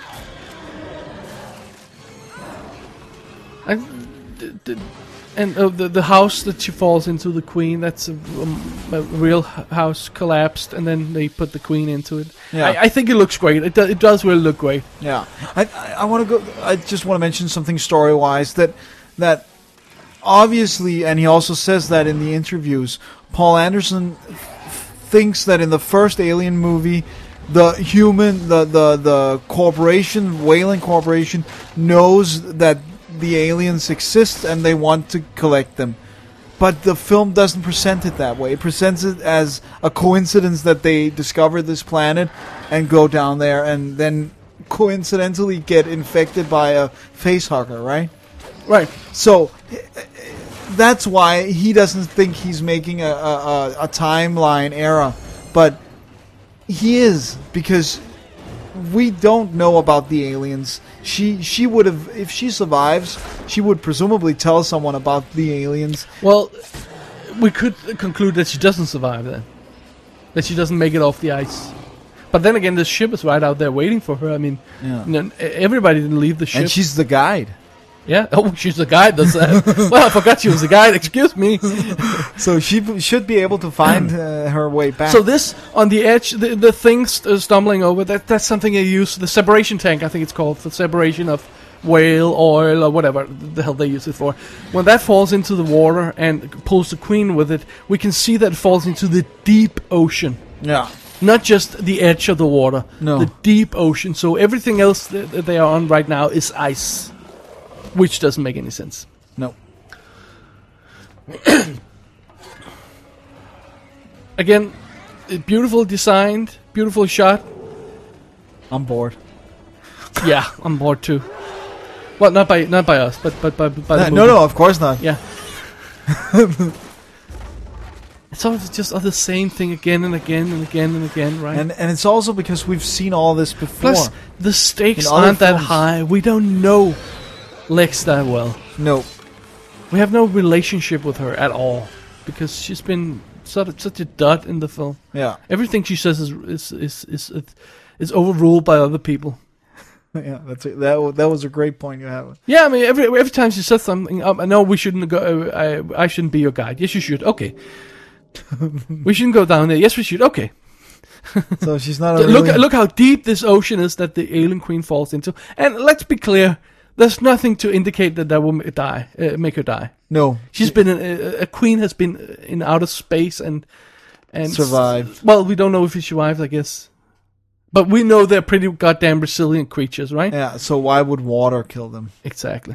And d- d- and uh, the the house that she falls into, the queen, that's a, um, a real h- house collapsed, and then they put the queen into it. Yeah. I, I think it looks great. It do, it does really look great. Yeah. I I, I want to go. I just want to mention something story wise that that obviously, and he also says that in the interviews, Paul Anderson f- thinks that in the first Alien movie, the human, the the the corporation, Weyland Corporation, knows that the aliens exist and they want to collect them. But the film doesn't present it that way. It presents it as a coincidence that they discover this planet and go down there and then coincidentally get infected by a facehugger, right? Right. So that's why he doesn't think he's making a, a, a, a timeline error. But he is, because we don't know about the aliens. She she would have, if she survives, she would presumably tell someone about the aliens. Well, we could conclude that she doesn't survive then. That she doesn't make it off the ice. But then again, the ship is right out there waiting for her. I mean, Yeah. you know, everybody didn't leave the ship. And she's the guide. Yeah. Oh, she's the guide. That's that. Well, I forgot she was the guide. Excuse me. So she b- should be able to find uh, her way back. So this on the edge, the, the thing st- uh, stumbling over. That that's something they use. The separation tank, I think it's called, for separation of whale oil or whatever the hell they use it for. When that falls into the water and pulls the queen with it, we can see that it falls into the deep ocean. Yeah. Not just the edge of the water, No. the deep ocean. So everything else that, that they are on right now is ice, which doesn't make any sense. No. Again, uh, beautiful designed, beautiful shot. I'm bored. Yeah, I'm bored too. Well, not by not by us, but but by, by the Uh, movie. no, no, of course not. Yeah. It's all just all the same thing again and again and again and again, right? And and it's also because we've seen all this before. Plus, the stakes In other aren't that films. high. We don't know Lex that well. No. We have no relationship with her at all because she's been sort of such a dud in the film. Yeah. Everything she says is is is is, is overruled by other people. Yeah, that's it. That wa- that was a great point you have. Yeah, I mean, every every time she says something, um, no, we shouldn't go. Uh, I I shouldn't be your guide. Yes, you should. Okay. We shouldn't go down there. Yes, we should. Okay. So she's not a Look really- look how deep this ocean is that the alien queen falls into. And let's be clear, there's nothing to indicate that that will ma- die, uh, make her die. No. She's been in, a, a queen has been in outer space and and Survived. s- well, we don't know if she survived, I guess, but we know they're pretty goddamn resilient creatures, right? Yeah, so why would water kill them? Exactly.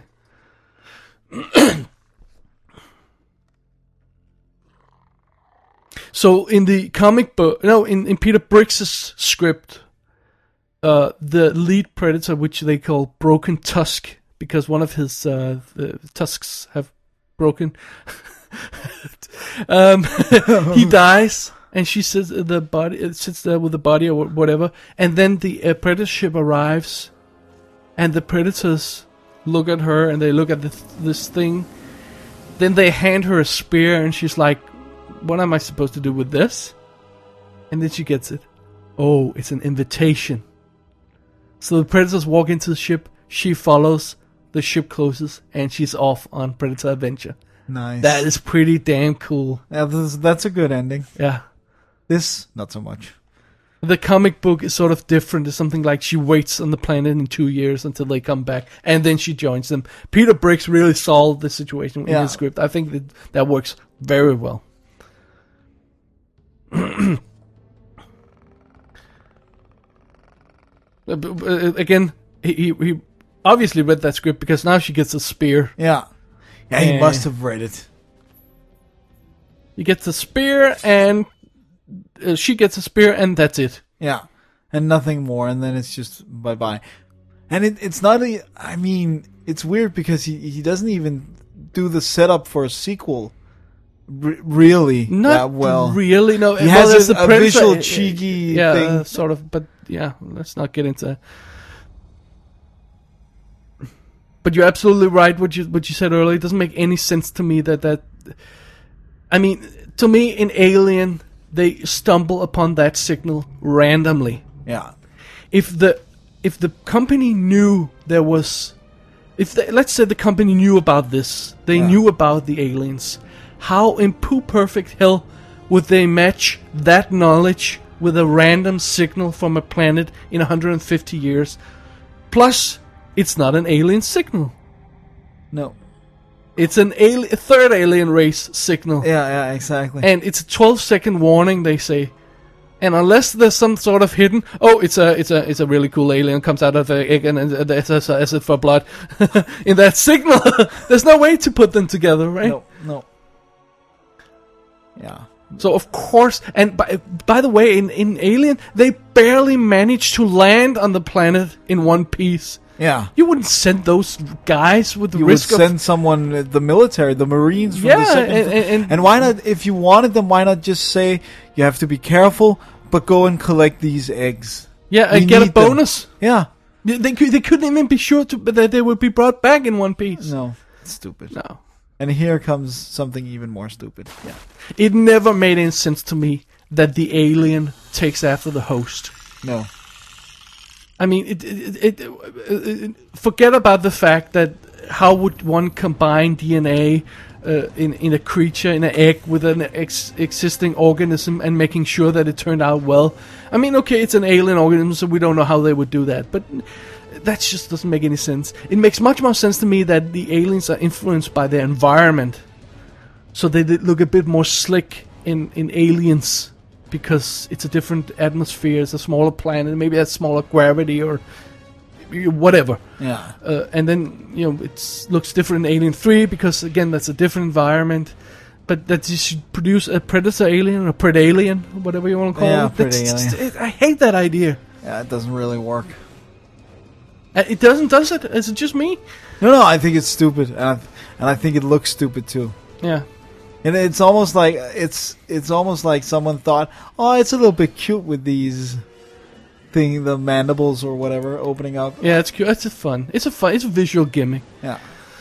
So in the comic book, no, in, in Peter Briggs' script, uh, the lead predator, which they call Broken Tusk, because one of his uh, the tusks have broken, um, he dies, and she sits the body uh, sits there with the body or whatever, and then the uh, predator ship arrives, and the predators look at her and they look at the, this thing. Then they hand her a spear, and she's like, "What am I supposed to do with this?" And then she gets it. Oh, it's an invitation. So the predators walk into the ship. She follows. The ship closes, and she's off on predator adventure. Nice. That is pretty damn cool. Yeah, this, that's a good ending. Yeah. This, not so much. The comic book is sort of different. It's something like she waits on the planet in two years until they come back, and then she joins them. Peter Briggs really solved the situation in Yeah. his script. I think that that works very well. Uh, b- b- uh, Again, he, he he obviously read that script because now she gets a spear. Yeah. Yeah, he Eh. must have read it. He gets a spear, and uh, she gets a spear, and that's it. Yeah. And nothing more, and then it's just bye-bye. And it, it's not a... I mean, it's weird because he, he doesn't even do the setup for a sequel r- really Not that well. really. No, He well, has there's a- the a Predator, visual uh, uh, cheeky yeah, thing. uh, sort of. But yeah, let's not get into. But you're absolutely right. What you what you said earlier, it doesn't make any sense to me that that. I mean, to me, in Alien, they stumble upon that signal randomly. Yeah. If the if the company knew there was, if they, let's say the company knew about this, they Yeah. knew about the aliens. How in poo perfect hell would they match that knowledge with a random signal from a planet in one hundred fifty years? Plus, it's not an alien signal. No. It's an ali- a third alien race signal. Yeah, yeah, exactly. And it's a twelve second warning, they say. And unless there's some sort of hidden, oh, it's a, it's a, it's a really cool alien comes out of the egg and and there's a acid for blood in that signal. There's no way to put them together, right? no, no. Yeah. So of course, and by by the way, in in Alien, they barely managed to land on the planet in one piece. Yeah. You wouldn't send those guys with the You would risk of send someone, uh, the military, the Marines from Yeah, the second. and- and- and- and why not, if you wanted them, why not just say, you have to be careful, but go and collect these eggs. yeah, We and get a need them. bonus. Yeah. They they, could, they couldn't even be sure to, that they would be brought back in one piece. No. It's stupid. No. And here comes something even more stupid. Yeah. It never made any sense to me that the alien takes after the host. No. I mean, it, it, it, it, it forget about the fact that how would one combine D N A uh, in in a creature, in an egg, with an ex- existing organism, and making sure that it turned out well. I mean, okay, it's an alien organism, so we don't know how they would do that, but that just doesn't make any sense. It makes much more sense to me that the aliens are influenced by their environment, so they did look a bit more slick in in Aliens. Because it's a different atmosphere, it's a smaller planet, maybe it has smaller gravity or whatever. Yeah. Uh, and then, you know, it looks different in Alien three because, again, that's a different environment. But that you should produce a Predator alien or Predalien, whatever you want to call Yeah, it. That's Predalien. just- it. I hate that idea. Yeah, it doesn't really work. Uh, It doesn't, does it? Is it just me? No, no, I think it's stupid. And I, and I think it looks stupid too. Yeah. And it's almost like it's it's almost like someone thought, oh, it's a little bit cute with these thing, the mandibles or whatever opening up. Yeah, it's cute. It's a fun. It's a fun. It's a visual gimmick. Yeah.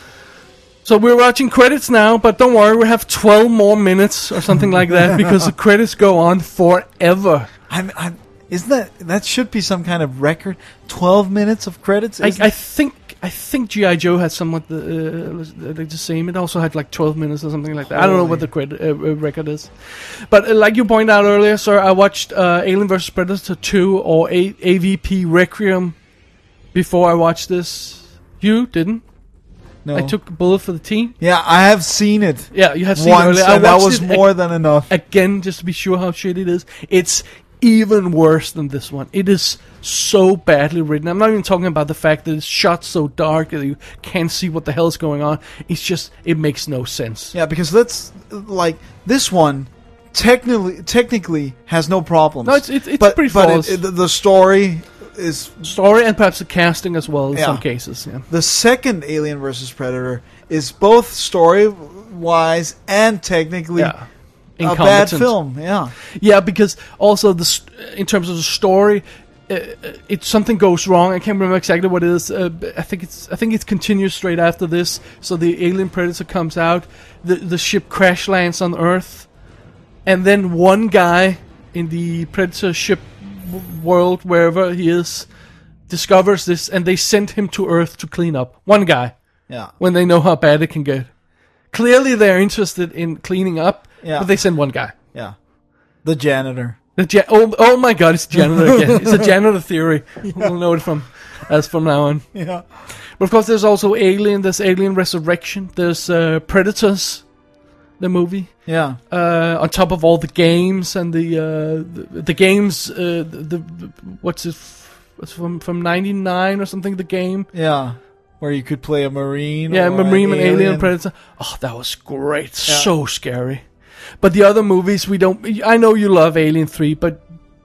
So we're watching credits now, but don't worry, we have twelve more minutes or something like that because the credits go on forever. I'm, I'm, isn't that that should be some kind of record? Twelve minutes of credits. I, isn't I think I think G I Joe had somewhat the, uh, the same. It also had like twelve minutes or something like that. I don't know what the credit uh, uh, record is, but uh, like you pointed out earlier, sir, I watched uh, Alien versus. Predator two or A- AVP Requiem before I watched this. You didn't? No. I took a bullet for the team. Yeah, I have seen it. Yeah, you have seen once, it earlier. I and that watched was it more ag- than enough. Again, just to be sure how shit it is. It's even worse than this one. It is so badly written. I'm not even talking about the fact that it's shot so dark that you can't see what the hell is going on. It's just, it makes no sense. Yeah, because let's like this one technically technically has no problems. No, it's it's, it's but, pretty but flawless. it, it, the story is Story and perhaps the casting as well in Yeah. some cases. Yeah. the second Alien versus Predator is both story wise and technically Yeah. a bad Incompetent. film. Yeah, Yeah, because also the st- in terms of the story, uh, it something goes wrong. I can't remember exactly what it is. Uh, but I think it's I think it continues straight after this. So the alien predator comes out, the the ship crash lands on Earth, and then one guy in the predator ship w- world, wherever he is, discovers this, and they send him to Earth to clean up. One guy, yeah, when they know how bad it can get. Clearly, they're interested in cleaning up, Yeah. but they send one guy. yeah. The janitor. The ja- oh, oh my god, it's janitor again. It's a janitor theory. We'll know it from as from now on. Yeah, But of course, there's also Alien. There's Alien Resurrection. There's uh, Predators, the movie. yeah, Uh, on top of all the games and the uh, the, the games, uh, the, the what's it? F- it's from from ninety-nine or something. The game. yeah. Where you could play a marine. Yeah, or Marine an and Alien Predator. Oh, that was great. Yeah. So scary. But the other movies, we don't. I know you love Alien three, but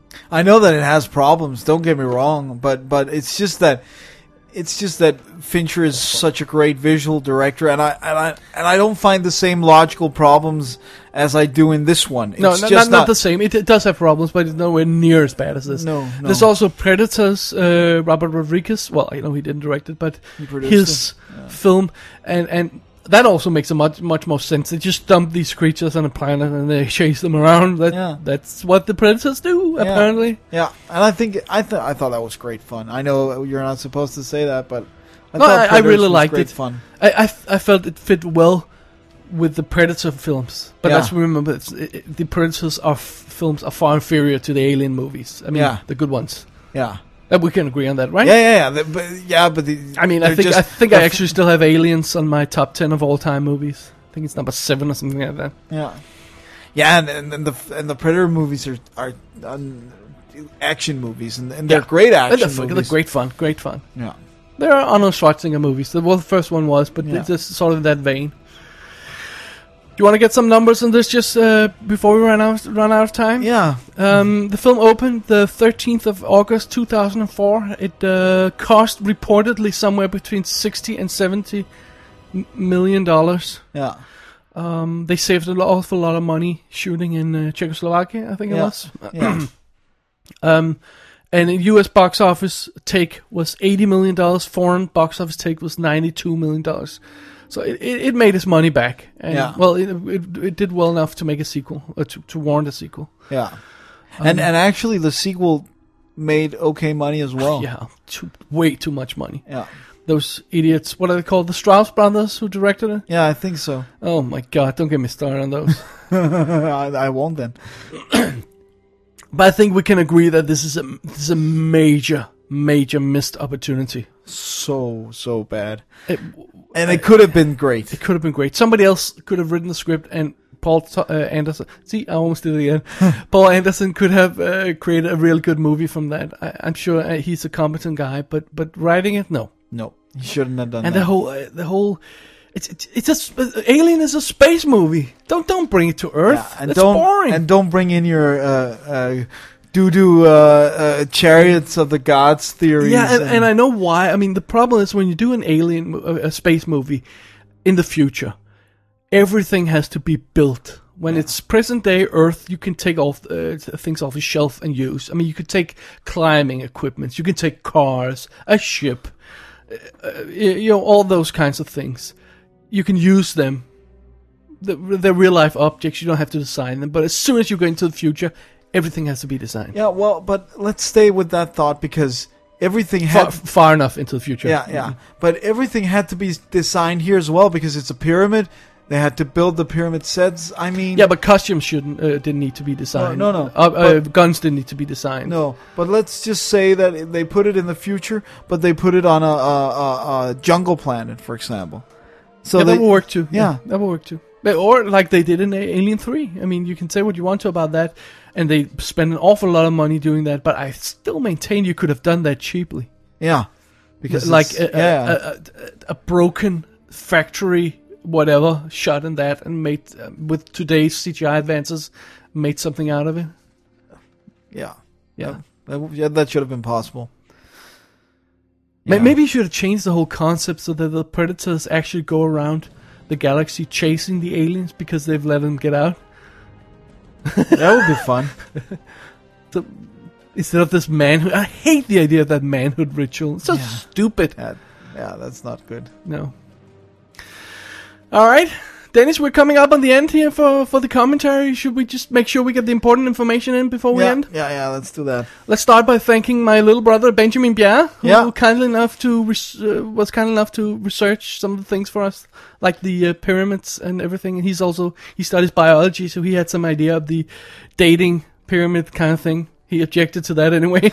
I know that it has problems. Don't get me wrong, but but it's just that it's just that Fincher is such a great visual director, and I and I and I don't find the same logical problems as I do in this one. It's no, no just not, not the same. It, it does have problems, but it's nowhere near as bad as this. No, no. There's also Predators. Uh, Robert Rodriguez. Well, I know he didn't direct it, but produced his film, and and that also makes a much much more sense. They just dump these creatures on a planet and they chase them around. That Yeah. that's what the Predators do, apparently. Yeah, and I think I th- I thought that was great fun. I know you're not supposed to say that, but I No, thought I- I Predators really was liked great it. Fun. I, I, f- I felt it fit well with the Predator films, but Yeah. let's remember it's, it, it- the Predators are f- films are far inferior to the Alien movies. I mean, Yeah. the good ones. Yeah, Uh, we can agree on that, right? yeah, yeah, yeah. The, but yeah, but the, I mean, I they're think just- I think I they're- actually still have Aliens on my top ten of all time movies. I think it's number seven or something like that. Yeah, yeah, and, and, and the and the Predator movies are are um, action movies, and, and they're Yeah. great And action they're, they're movies. great fun, great fun. Yeah, There are Arnold Schwarzenegger movies. Well, the first one was, but Yeah. it's just sort of that vein. Do you want to get some numbers on this just uh, before we run out run out of time? yeah, Um, the film opened the thirteenth of August two thousand four. It uh, cost reportedly somewhere between sixty and seventy m- million dollars. yeah, Um, they saved an awful lot of money shooting in uh, Czechoslovakia, I think it Yeah. was. yeah. Um, and the U S box office take was eighty million dollars. Foreign box office take was ninety-two million dollars. So it, it, it made its money back. And, Yeah. Well, it, it it did well enough to make a sequel, uh, to, to warrant a sequel. Yeah, and and actually the sequel made okay money as well. Yeah, too, way too much money. yeah, Those idiots, what are they called? The Strauss brothers who directed it? yeah. I think so. Oh my god, don't get me started on those. I, I won't then. But I think we can agree that this is a this is a major, major missed opportunity. So so bad, It, and it could have been great. it could have been great. Somebody else could have written the script, and Paul T- uh, Anderson. See, I almost did it again. Paul Anderson could have uh, created a real good movie from that. I, I'm sure uh, he's a competent guy, but but writing it, no. No, he shouldn't have done And that. the whole uh, the whole. It's it's, it's a sp- Alien is a space movie. Don't don't bring it to Earth. Yeah, and That's don't boring. and don't bring in your uh, uh, doo doo uh, uh, chariots of the gods theories. Yeah, and, and I know why. I mean, the problem is when you do an alien, mo- a space movie in the future, everything has to be built. When yeah. it's present day Earth, you can take off uh, things off the shelf and use. I mean, you could take climbing equipment, you can take cars, a ship, uh, you know, all those kinds of things. You can use them. They're real life objects. You don't have to design them. But as soon as you go into the future, everything has to be designed. Yeah, well, but let's stay with that thought because everything far, had far enough into the future. Yeah, yeah. Mm-hmm. But everything had to be designed here as well because it's a pyramid. They had to build the pyramid sets. I mean, yeah, but costumes shouldn't uh, didn't need to be designed. No, no, no. Uh, uh, guns didn't need to be designed. No, but let's just say that they put it in the future, but they put it on a, a, a, a jungle planet, for example. So yeah, they, that will work too. Yeah. yeah, that will work too. Or like they did in Alien three. I mean, you can say what you want to about that, and they spend an awful lot of money doing that. But I still maintain you could have done that cheaply. Yeah, because like a, yeah. a, a, a broken factory, whatever, shot in that and made uh, with today's C G I advances, made something out of it. Yeah, yeah, that, that, yeah, that should have been possible. Yeah. Maybe you should have changed the whole concept so that the predators actually go around the galaxy chasing the aliens because they've let them get out. That would be fun. So, instead of this manhood, I hate the idea of that manhood ritual. It's so yeah. stupid. Yeah, yeah, that's not good. No. All right, Dennis, we're coming up on the end here for, for the commentary. Should we just make sure we get the important information in before we yeah, end? Yeah, yeah, let's do that. Let's start by thanking my little brother Benjamin Bjerre, who yeah. kindly enough to res- uh, was kind enough to research some of the things for us, like the uh, pyramids and everything. And he's also he studies biology, so he had some idea of the dating pyramid kind of thing. He objected to that anyway,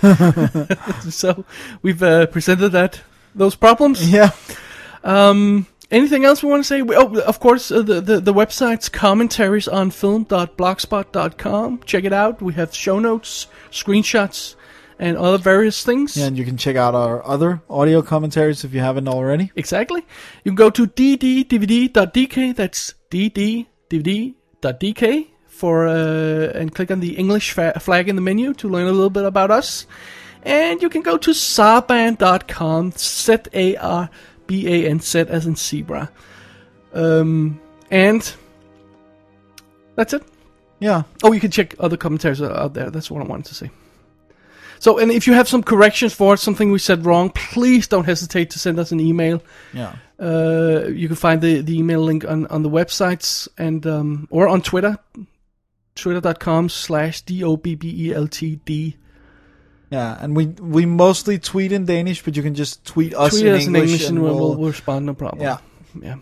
so we've uh, presented that those problems. Yeah. Um. Anything else we want to say? Oh, of course, uh, the, the the website's commentaries on film dot blogspot dot com. Check it out. We have show notes, screenshots, and other various things. Yeah, and you can check out our other audio commentaries if you haven't already. Exactly. You can go to d d d v d dot d k. That's d d d v d dot d k for uh, and click on the English fa- flag in the menu to learn a little bit about us. And you can go to sarban dot com. Z A R B A N Z as in zebra. Um, and that's it. Yeah. Oh, you can check other commentaries out there. That's what I wanted to say. So, and if you have some corrections for something we said wrong, please don't hesitate to send us an email. Yeah. Uh, you can find the, the email link on, on the websites and um, or on Twitter. Twitter.com slash D O B B E L T D. Yeah, and we we mostly tweet in Danish, but you can just tweet us tweet in us English, in English and, and we'll, we'll, we'll respond, no problem. Yeah. Yeah.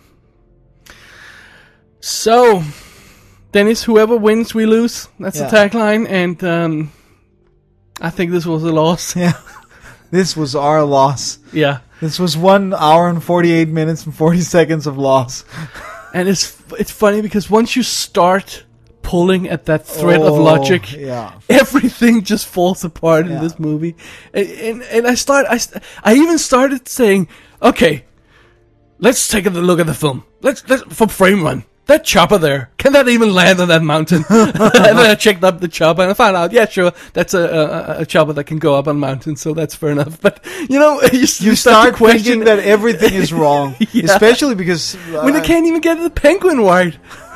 So, Dennis, whoever wins, we lose. That's yeah. the tagline, and um, I think this was a loss. Yeah. This was our loss. Yeah. This was one hour and forty-eight minutes and forty seconds of loss. And it's it's funny because once you start pulling at that thread oh, of logic, yeah. everything just falls apart yeah. in this movie. And, and and I start I I even started saying, okay, let's take a look at the film. Let's let's from frame run. That chopper there, can that even land on that mountain? And then I checked up the chopper and I found out, yeah, sure, that's a, a, a chopper that can go up on mountains, so that's fair enough. But, you know, you, you start, start to question thinking that everything is wrong. yeah. Especially because... Uh, when they can't even get the penguin right.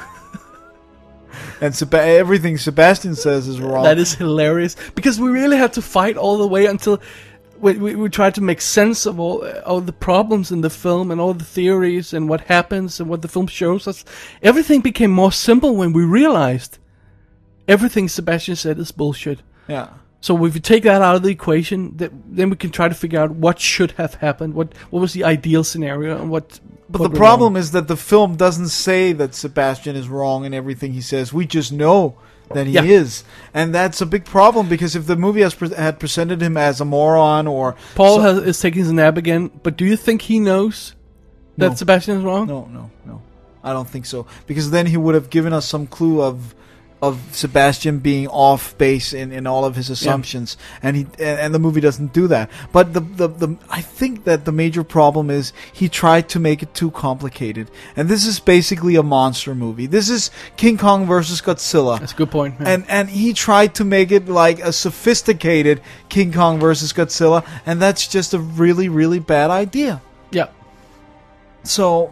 And Seb- everything Sebastian says is wrong. That is hilarious. Because we really had to fight all the way until... We, we, we tried to make sense of all, all the problems in the film and all the theories and what happens and what the film shows us. Everything became more simple when we realized everything Sebastian said is bullshit. Yeah. So if you take that out of the equation, that, then we can try to figure out what should have happened, what what was the ideal scenario, and what. But what the problem wrong. is that the film doesn't say that Sebastian is wrong in everything he says. We just know that he yeah. is, and that's a big problem because if the movie has pre- had presented him as a moron or Paul so- has, is taking his nap again, but do you think he knows that no. Sebastian is wrong? No, no, no. I don't think so because then he would have given us some clue of of Sebastian being off base in, in all of his assumptions, yeah. and he and, and the movie doesn't do that. But the, the the I think that the major problem is he tried to make it too complicated, and this is basically a monster movie. This is King Kong versus Godzilla. That's a good point. Yeah. And and he tried to make it like a sophisticated King Kong versus Godzilla, and that's just a really really bad idea. Yeah. So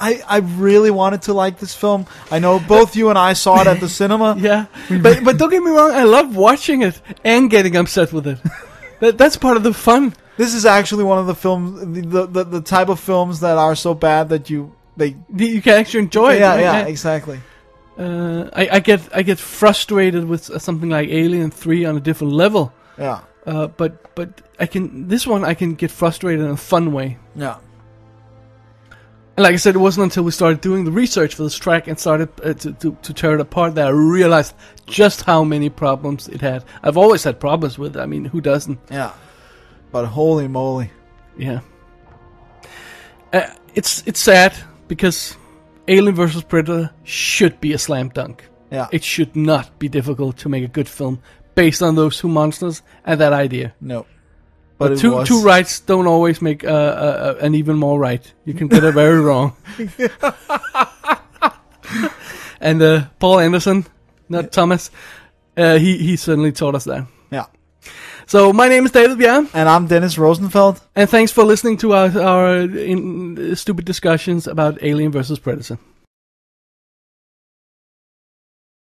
I, I really wanted to like this film. I know both you and I saw it at the cinema. Yeah, but but don't get me wrong, I love watching it and getting upset with it. that that's part of the fun. This is actually one of the films, the the, the type of films that are so bad that you they You can actually enjoy it. yeah right? yeah exactly. Uh, I, I get I get frustrated with something like Alien three on a different level. Yeah Uh, but but I can this one I can get frustrated in a fun way. yeah. And like I said, it wasn't until we started doing the research for this track and started uh, to, to to tear it apart that I realized just how many problems it had. I've always had problems with it. I mean, who doesn't? Yeah, but holy moly. Yeah. Uh, it's it's sad because Alien versus. Predator should be a slam dunk. Yeah. It should not be difficult to make a good film based on those two monsters and that idea. No. But, But it two was. two rights don't always make uh, uh, uh, an even more right. You can get it very wrong. And uh, Paul Anderson, not Thomas, uh, he he certainly taught us that. Yeah. So my name is David Bjerre, And I'm Dennis Rosenfeld. and thanks for listening to our our in, stupid discussions about Alien versus. Predator.